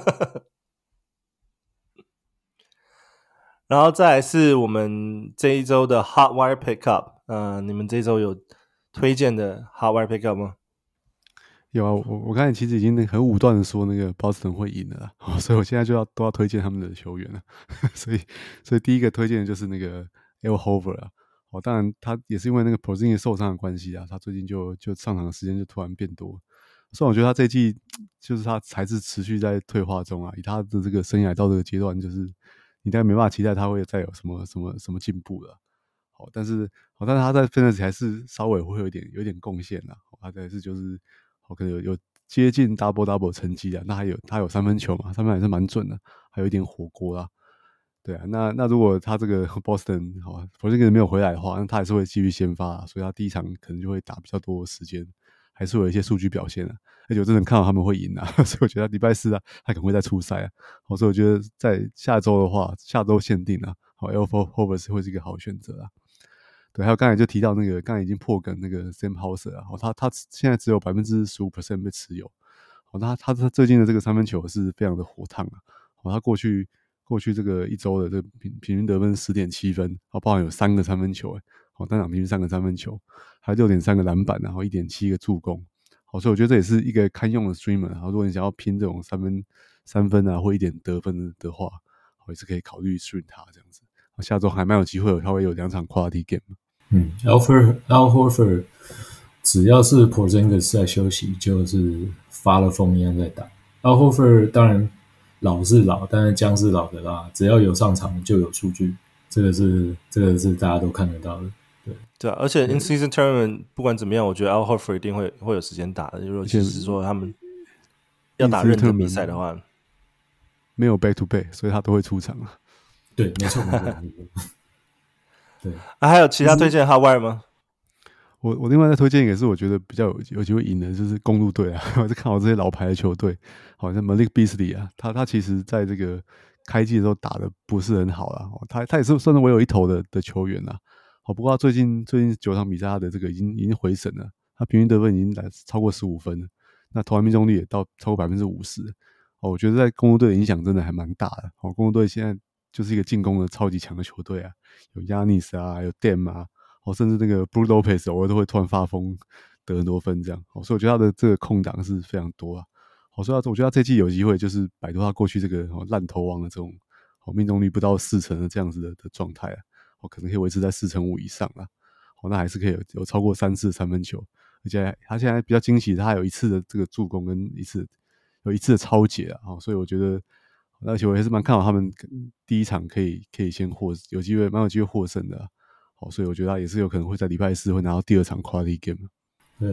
然後再來是我們這一周的 Hot Wire Pickup， 你們這一周有推薦的 Hot Wire Pickup 嗎？ 有啊，我剛才其實已經很武斷的說那個 Boston 會贏了啦，所以我現在都要推薦他們的球員了。所以第一個推薦的就是那個 Al Horford 啊。當然他也是因為那個 Porzingis 受傷的關係啊，他最近就上場的時間就突然變多。所以我覺得他這一季就是他還是持續在退化中啊，以他的這個生涯到這個階段，就是你大概沒辦法期待他會再有什麼進步了。但是他在 Fantasy 還是稍微會有點貢獻啦。他還是就是可能有接近 double 成績啊。那他有三分球嘛，三分還是蠻準的，還有一點火鍋啦。對啊，那如果他這個 Boston Porzingis 沒有回來的話，那他還是會繼續先發啊，所以他第一場可能就會打比較多的時間，還是會有一些數據表現啊。而且我真的看到他們會贏啊，所以我覺得禮拜4啊，他可能會再出賽啊。所以我覺得在下周的話，下周限定啊，Al Horford 會是一個好選擇啊。對，還有剛才就提到那個剛才已經破梗那個 Sam Hauser 啊，他現在只有 15% 被持有。他最近的這個三分球是非常的火燙啊。他過去這個一周的這個平均得分 10.7 分，包含有3個三分球，單場平均3個三分球，還有 6.3 個籃板，然後 1.7 個助攻。所以我覺得這也是一個堪用的 streamer。然後如果你想要拼這種三分啊或一點得分的話，也是可以考慮 stream 他這樣子。下周還蠻有機會，他會有2場 quality game。 Al Horford 只要是 Porzingis 在休息，就是發了瘋一樣在打。Al Horford 當然老是老，但是薑是老的啦。只要有上場就有數據，這個是大家都看得到的。 对啊，而且 in season tournament 不管怎麼樣，我覺得 Al Horford 一定會有時間打的。如果就是說他們要打認真比賽的話， 沒有 back to back， 所以他都會出場啊。 對，沒錯。對啊，還有其他推薦的 Hot Wire 嗎？ 我另外再推薦一個是我覺得比較有機會贏的，就是公鹿隊啊。我是看好這些老牌的球隊，好像 Malik Beasley 啊，他其實在這個開季的時候打的不是很好啦。他也是算是唯有一投的球員啦。不過他最近9場比賽，他的這個已經回神了，他平均得分已經來超過15分了，那投籃命中率也到超過 50%。我覺得在公鹿隊的影響真的還蠻大的。公鹿隊現在就是一個進攻的超級強的球隊啊，有 Giannis 啊，有 Dame 啊，甚至那個 Brook Lopez 偶爾都會突然發瘋得很多分這樣。所以我覺得他的這個空檔是非常多啊。所以我覺得他這季有機會就是擺脫他過去這個爛投王的這種命中率不到40%的這樣子的狀態啊。可能可以維持在4.5%以上啦。那還是可以有超過3次三分球，而且他現在比較驚喜，他有1次的這個助攻跟一次的抄截啊。所以我覺得，而且我也是蠻看好他們第一場可以先蠻有機會獲勝的。所以我覺得他也是有可能會在禮拜4會拿到第2場 quality game。 對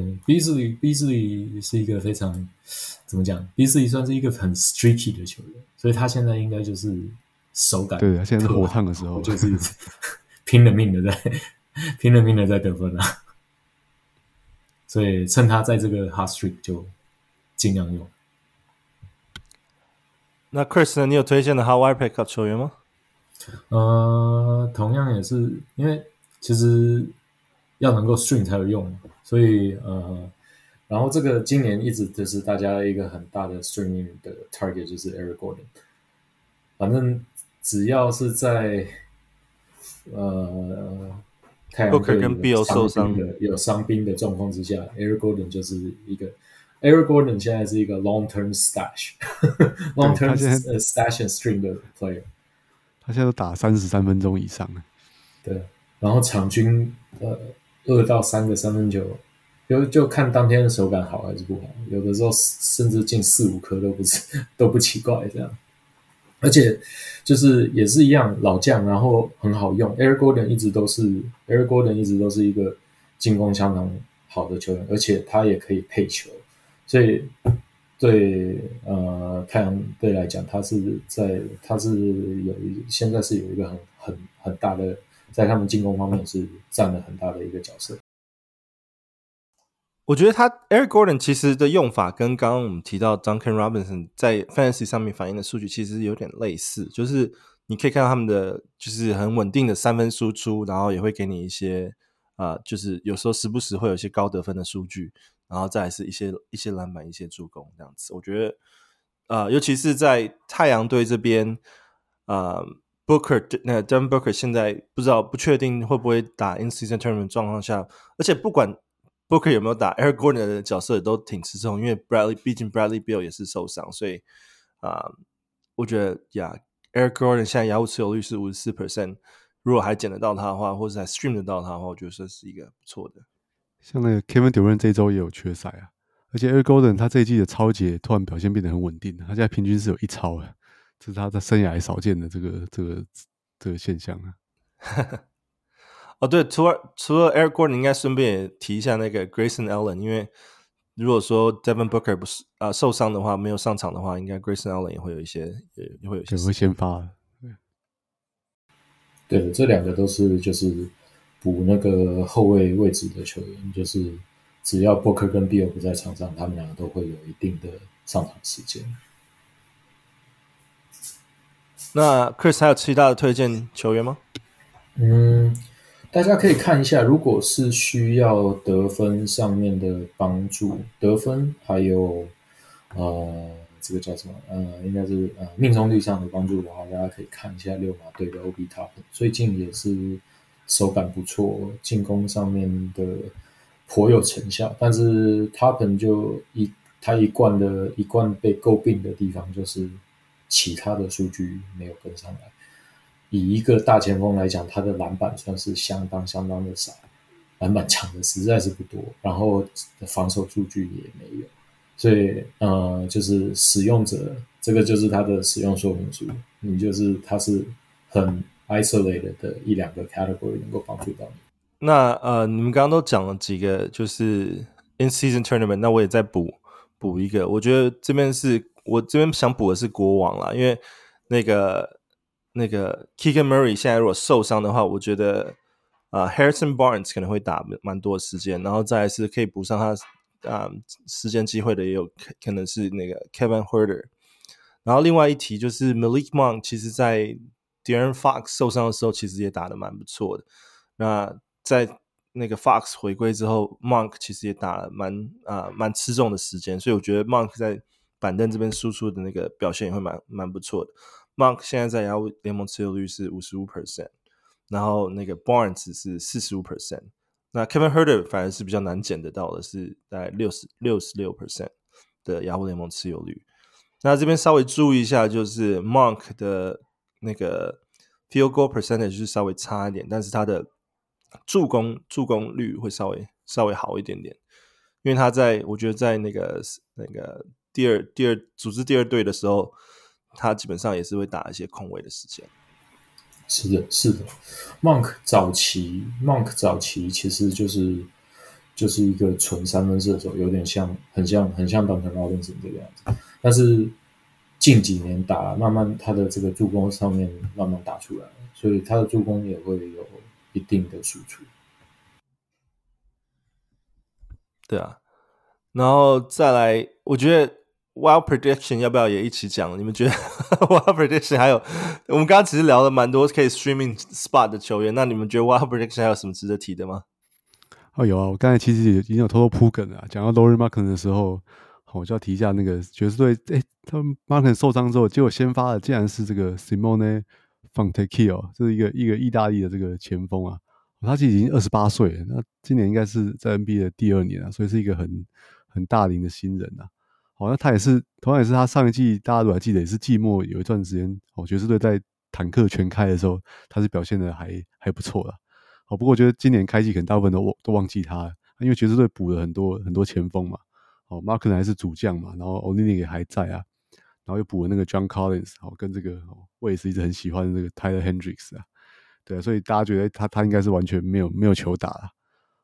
，Beasley 是一個非常怎麼講 ？Beasley 算是一個很 streaky 的球員，所以他現在應該就是手感对，现在是火燙的時候， 就是拼了命的在得分啊。所以趁他在這個 hot streak 就盡量用。 那 Chris 呢？你有推薦的 Hot Wire Pickup 球員嗎？ 同樣也是因為其實要能夠 stream 才有用，所以然後這個今年一直就是大家一個很大的 streaming 的 target 就是 Eric Gordon。反正只要是在太陽隊有傷兵的狀況之下 ，Eric Gordon 就是一個 Eric Gordon 現在是一個 long-term stash，long-term stash and stream 的 player。 他現在都打33分鐘以上了。 對，然後場均2到3個三分球，就看當天的手感好還是不好，有的時候甚至進4-5顆都不奇怪這樣。而且就是也是一樣老將，然後很好用。Eric Gordon 一直都是一個進攻相當好的球員，而且他也可以配球，所以对太陽隊來講，現在是有一個很大的，在他們進攻方面是佔了很大的一個角色。 我覺得他 Eric Gordon 其實的用法跟剛剛我們提到 Duncan Robinson 在 Fantasy 上面反映的數據其實有點類似，就是你可以看到他們的就是很穩定的三分輸出，然後也會給你一些就是有時候時不時會有一些高得分的數據，然後再來是一些籃板、一些助攻這樣子。我覺得尤其是在太陽隊這邊Devin Booker 現在不確定會不會打 In-Season Tournament 狀況下，而且不管Booker 有沒有打 Eric Gordon 的角色也都挺吃重，因為畢竟 Bradley Beal 也是受傷，所以我覺得Eric Gordon 現在야구持有率是 54%， 如果還撿得到他的話，或者還 stream 得到他的話，我覺得這是一個不錯的。 像那個 Kevin Durant 這一周也有缺賽啊，而且 Eric Gordon 他這一季的抄截突然表現變得很穩定，他現在平均是有1抄了，這是他在生涯還少見的這個現象啊。 哦，對，除了 Eric Gordon， 應該順便也提一下那個 Grayson Allen， 因為如果說 Devin Booker 不是受傷的話，沒有上場的話，應該 Grayson Allen 也會有一些會先發。 對，這兩個都是就是補那個後衛位置的球員，就是只要 Booker 跟 Beal 不在場上，他們兩個都會有一定的上場時間。 那 Chris 還有其他的推薦球員嗎？ 大家可以看一下，如果是需要得分上面的幫助，得分還有這個叫什麼應該是命中率上的幫助的話，大家可以看一下溜馬隊的 Obi Toppin， 最近也是手感不錯，進攻上面的頗有成效。但是 Toppin 他一貫被詬病的地方就是其他的數據沒有跟上來。以一個大前鋒來講，他的籃板算是相當的少，籃板搶的實在是不多，然後防守數據也沒有，所以就是使用者這個就是他的使用說明書，他是很 isolated 的一兩個 category 能夠幫助到你。 那你們剛剛都講了幾個就是 in-season tournament， 那我也再補一個，我覺得我這邊想補的是國王啦，因為那個 Keegan Murray 現在如果受傷的話，我覺得Harrison Barnes 可能會打蠻多的時間，然後再來是可以補上他時間機會的，也有可能是那個 Kevin Huerter。然後另外一提就是 Malik Monk， 其實在 De'Aaron Fox 受傷的時候，其實也打得蠻不錯的。那在那個 Fox 回歸之後 ，Monk 其實也打了蠻吃重的時間，所以我覺得 Monk 在板凳這邊輸出的那個表現也會蠻不錯的。Monk 現在在야구聯盟持有率是 55%， 然後那個 Barnes 是 45%， 那 Kevin Huerter 反而是比較難撿得到的，是大概 66% 的야구聯盟持有率。那這邊稍微注意一下，就是 Monk 的那個 field goal percentage 是稍微差一點，但是他的助攻率會稍微好一點點，因為他我覺得在那個第二組織第二隊的時候，他基本上也是會打一些空位的時間。 是的 Monk 早期其實就是一個純三分射手，有點很像Duncan Robinson 這個樣子，但是近幾年慢慢他的這個助攻上面慢慢打出來了，所以他的助攻也會有一定的輸出。 对啊，然後再來，我覺得 Wild Prediction 要不要也一起講？你們覺得 Wild Prediction 還有我們剛剛其實聊了蠻多可以 streaming spot 的球員，那你們覺得 Wild Prediction 還有什麼值得提的嗎？ 有啊，我剛才其實已經有偷偷鋪梗了啊，講到 Lauri Markkanen 的時候，我就要提一下那個爵士隊，他們 Markkanen 受傷之後，結果先發的竟然是這個 Simone Fontecchio，這是一個意大利的這個前鋒啊，他其實已經28歲了，那今年應該是在 NBA 的第2年啊，所以是一個很大齡的新人啊。好，那他同樣也是他上一季大家都還記得，也是季末有一段時間，爵士隊在坦克全開的時候，他是表現的還不錯啦。好，不過我覺得今年開季可能大部分都忘記他了，因為爵士隊補了很多前鋒嘛。好 ，Markkanen 還是主將嘛，然後 Olynyk 也還在啊，然後又補了那個 John Collins， 好，跟這個我也是一直很喜歡的這個 Tyler Hendricks 啊，對啊，所以大家覺得他應該是完全沒有球打了。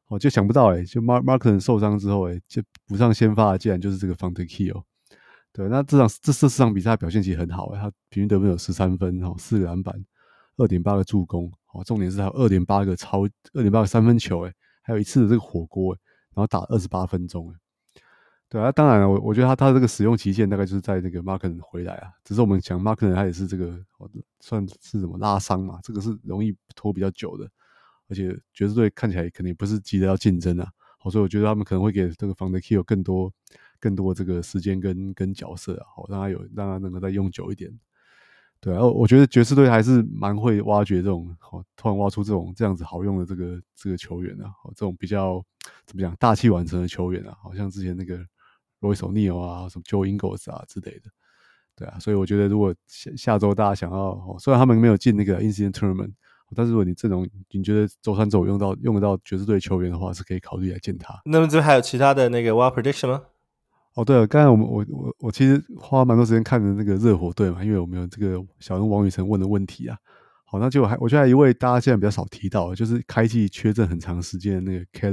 就想不到就 Markkanen 受傷之後就補上先發的竟然就是這個 Fontecchio。對，那這4場比賽表現其實很好他平均得分有13分4個籃板 2.8 個助攻重點是還有 2.8 個三分球還有一次的這個火鍋然後打28分鐘對啊，當然了，我覺得他這個使用期限大概就是在那個 Markkanen 回來只是我们講 Markkanen 他也是這個算是什麼拉傷嘛，這個是容易拖比較久的，而且爵士隊看起來肯定不是急着要競爭所以我覺得他們可能會給這個 Fontecchio 更多這個時間跟角色讓他能夠再用久一點。对啊，我覺得爵士隊還是蠻會挖掘這種突然挖出這樣子好用的這個球員這種比較怎麼講大器晚成的球員好像之前那個 Royce O'Neal 什麼 Joe Ingles 之類的。對啊，所以我覺得如果下周大家想要雖然他們沒有進那個 In-Season Tournament， 但是如果你陣容你覺得周3周5用得到爵士隊球員的話，是可以考慮來見他。 那麼這還有其他的那個 Wild Prediction 嗎？ 对了，剛才我其實花蠻多時間看的那個熱火隊嘛，因為我們有這個小人王宇成問的問題好，那就我覺得還有一位大家現在比較少提到的，就是開季缺陣很長時間的那個 Caleb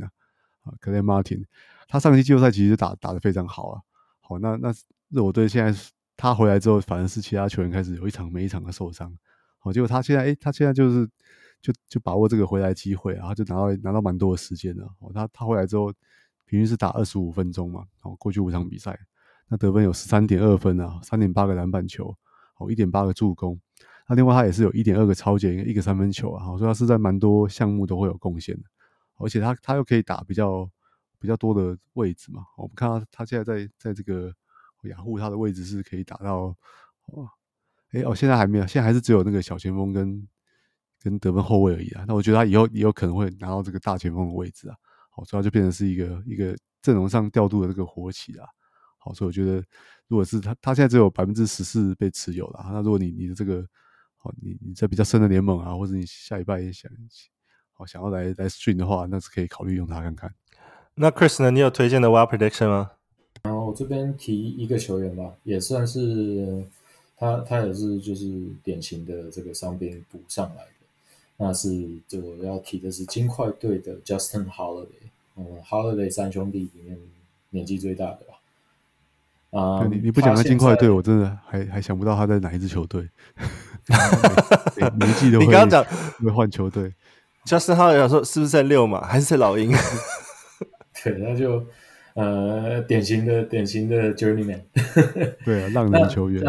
Martin Martin， 他上季季後賽其實打得非常好好，那熱火隊現在他回來之後，反而是其他球員開始有一場沒一場的受傷，結果他現在就是就把握這個回來機會，然後就拿到蠻多的時間了。他回來之後，平均是打25分鐘嘛，過去5場比賽，那得分有 13.2 分3.8 個籃板球，1.8 個助攻。那另外他也是有 1.2 個抄截，1個三分球所以他是在蠻多項目都會有貢獻的，而且他又可以打比較多的位置嘛。我們看他現在在這個雅虎，他的位置是可以打到現在還沒有，現在還是只有那個小前鋒跟得分後衛而已那我覺得他以後也有可能會拿到這個大前鋒的位置所以他就變成是一個陣容上調度的這個活棋好，所以我覺得如果是他現在只有 14% 被持有那如果你的這個你在比較深的聯盟或者你下禮拜也想要來 stream 的話，那是可以考慮用它看看。 那 Chris 呢？你有推薦的 Wild Prediction 嗎？ 我這邊提一個球員吧，也算是他也是就是典型的這個傷兵補上來的。那是我要提的是金塊隊的 Justin Holiday，Holiday 三兄弟裡面年紀最大的吧。 你不講他金塊隊，我真的還想不到他在哪一支球隊。每一季都會你剛剛講會換球隊。 Justin Holiday 想說是不是在溜馬，還是在老鷹？ 對，那就典型的 journeyman。 對啊，浪人球員。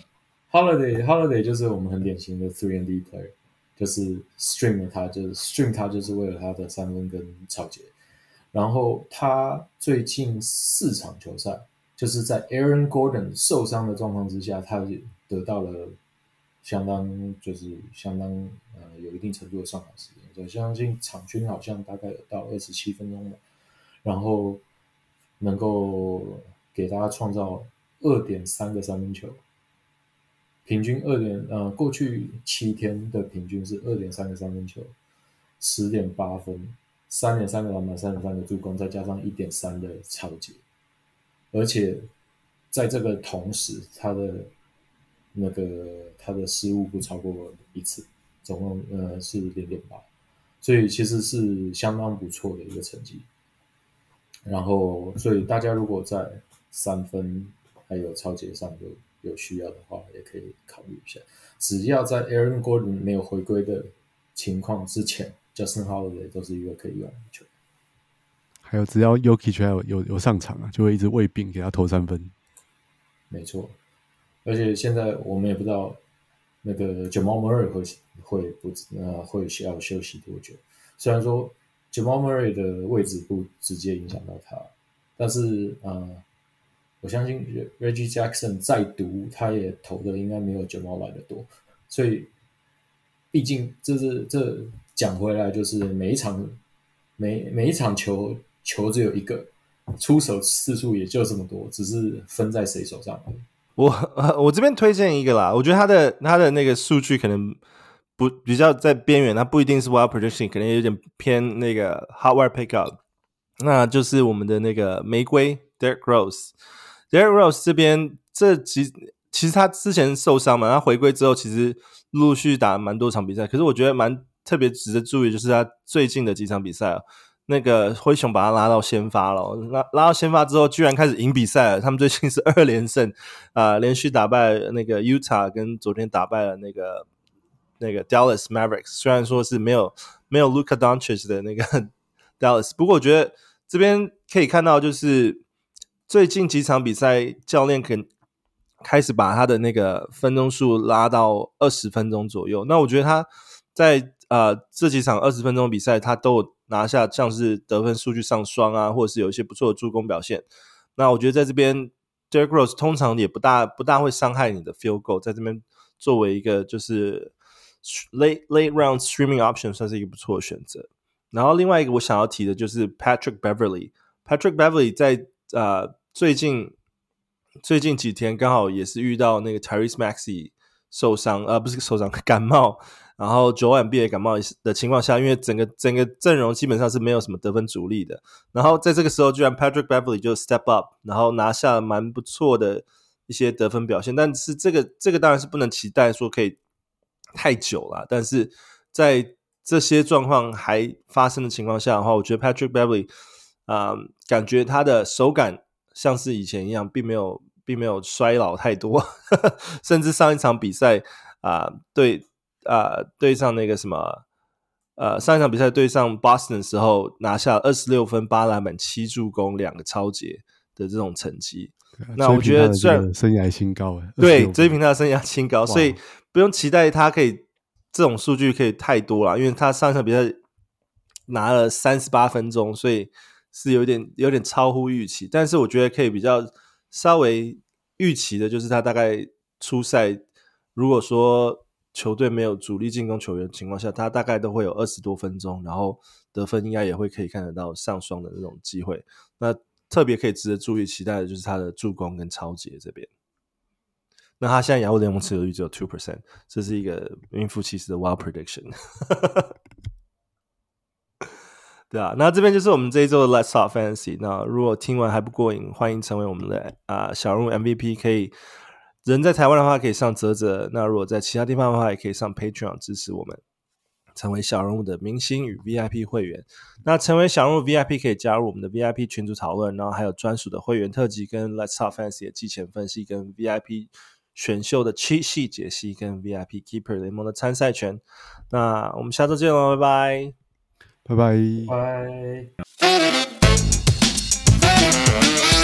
Holiday 就是我們很典型的 3&D player， 就是 stream 他就是為了他的三分跟抄截。然後他最近4場球赛，就是在 Aaron Gordon 受傷的狀況之下，他得到了相當有一定程度的上場時間。我相信場均好像大概有到27分鐘吧，然後能夠給大家創造 2.3 個三分球，平均過去7天的平均是 2.3 個三分球， 10.8 分， 3.3 個籃板， 3.3 個助攻，再加上 1.3 的抄截，而且在這個同時他的失誤不超過1次，總共是 0.8， 所以其實是相當不錯的一個成績。然後所以大家如果在三分還有抄截上有需要的話，也可以考慮一下。只要在 Aaron Gordon 沒有回歸的情況之前， Justin Holiday 都是一個可以用的球員。 還有只要 Jokic 有上場就會一直餵餅給他投三分。沒錯， 而且現在我們也不知道那個 Jamal Murray 會需要休息多久。雖然說 Jamal Murray 的位置不直接影響到他，但是我相信 Reggie Jackson 再讀他也投的應該沒有 Jamal 來的多，所以畢竟這講回來就是每一場球只有一個，出手次數也就這麼多，只是分在誰手上而已。 我這邊推薦一個啦，我覺得他的那個數據可能不比較在邊緣，它不一定是 Wild Prediction， 可能有點偏那個 Hot Wire Pickup， 那就是我們的那個玫瑰 Derrick Rose。Derrick Rose 這邊其實他之前受傷嘛，他回歸之後其實陸續打蠻多場比賽，可是我覺得蠻特別值得注意，就是他最近的幾場比賽那個灰熊把他拉到先發了，拉到先發之後，居然開始贏比賽了。他們最近是2連勝，連續打敗了那個 Utah， 跟昨天打敗了那個 Dallas Mavericks。雖然說是沒有 Luka Doncic 的那個 Dallas， 不過我覺得這邊可以看到，就是最近幾場比賽，教練開始把他的那個分鐘數拉到20分鐘左右。那我覺得他在這幾場20分鐘比賽，他都有拿下像是得分數據上雙啊，或者是有一些不錯的助攻表現。那我覺得在這邊 Derrick Rose 通常也不大會傷害你的 field goal， 在這邊作為一個就是 late round streaming option 算是一個不錯的選擇。然後另外一個我想要提的就是 Patrick Beverley 在最近幾天剛好也是遇到那個 Tyrese Maxey 受傷，不是受傷，感冒。然後Joel Embiid也感冒的情況下，因為整個陣容基本上是沒有什麼得分主力的，然後在這個時候居然 Patrick Beverley 就 step up， 然後拿下了蠻不錯的一些得分表現。但是這個當然是不能期待說可以太久啦，但是在這些狀況還發生的情況下的話，我覺得 Patrick Beverley 感覺他的手感像是以前一樣，並沒有衰老太多甚至上一场比賽對上那個什麼上一场比賽对上 Boston 的时候拿下26分8籃板7助攻2個抄截的這種成績。那我覺得雖然生涯新高， 對，追平他的生涯新高，所以不用期待他可以這種數據可以太多了，因為他上一場比賽拿了38分鐘，所以是有點超乎預期。但是我覺得可以比較稍微預期的就是他大概出賽，如果說球隊沒有主力進攻球員的情況下，他大概都會有20多分鐘，然後得分應該也會可以看得到上雙的那種機會。那特別可以值得注意期待的就是他的助攻跟抄截這邊。那他現在亞洲聯盟持有率只有 2%， 這是一個名副其實的 wild prediction 對啊，那這邊就是我們這一周的 Let's Talk Fantasy。那如果聽完還不過癮，歡迎成為我們的小人物 MVP， 可以人在台灣的話可以上嘖嘖，那如果在其他地方的話也可以上 Patreon 支持我們，成為小人物的明星與 VIP 會員。那成為小人物 VIP 可以加入我們的 VIP 群組討論，然後還有專屬的會員特輯跟 Let's Talk Fantasy 的季前分析，跟 VIP 選秀的cheat sheet解析，跟 VIP Keeper 聯盟的參賽權。那我們下周見囉，拜拜， 拜拜， 拜。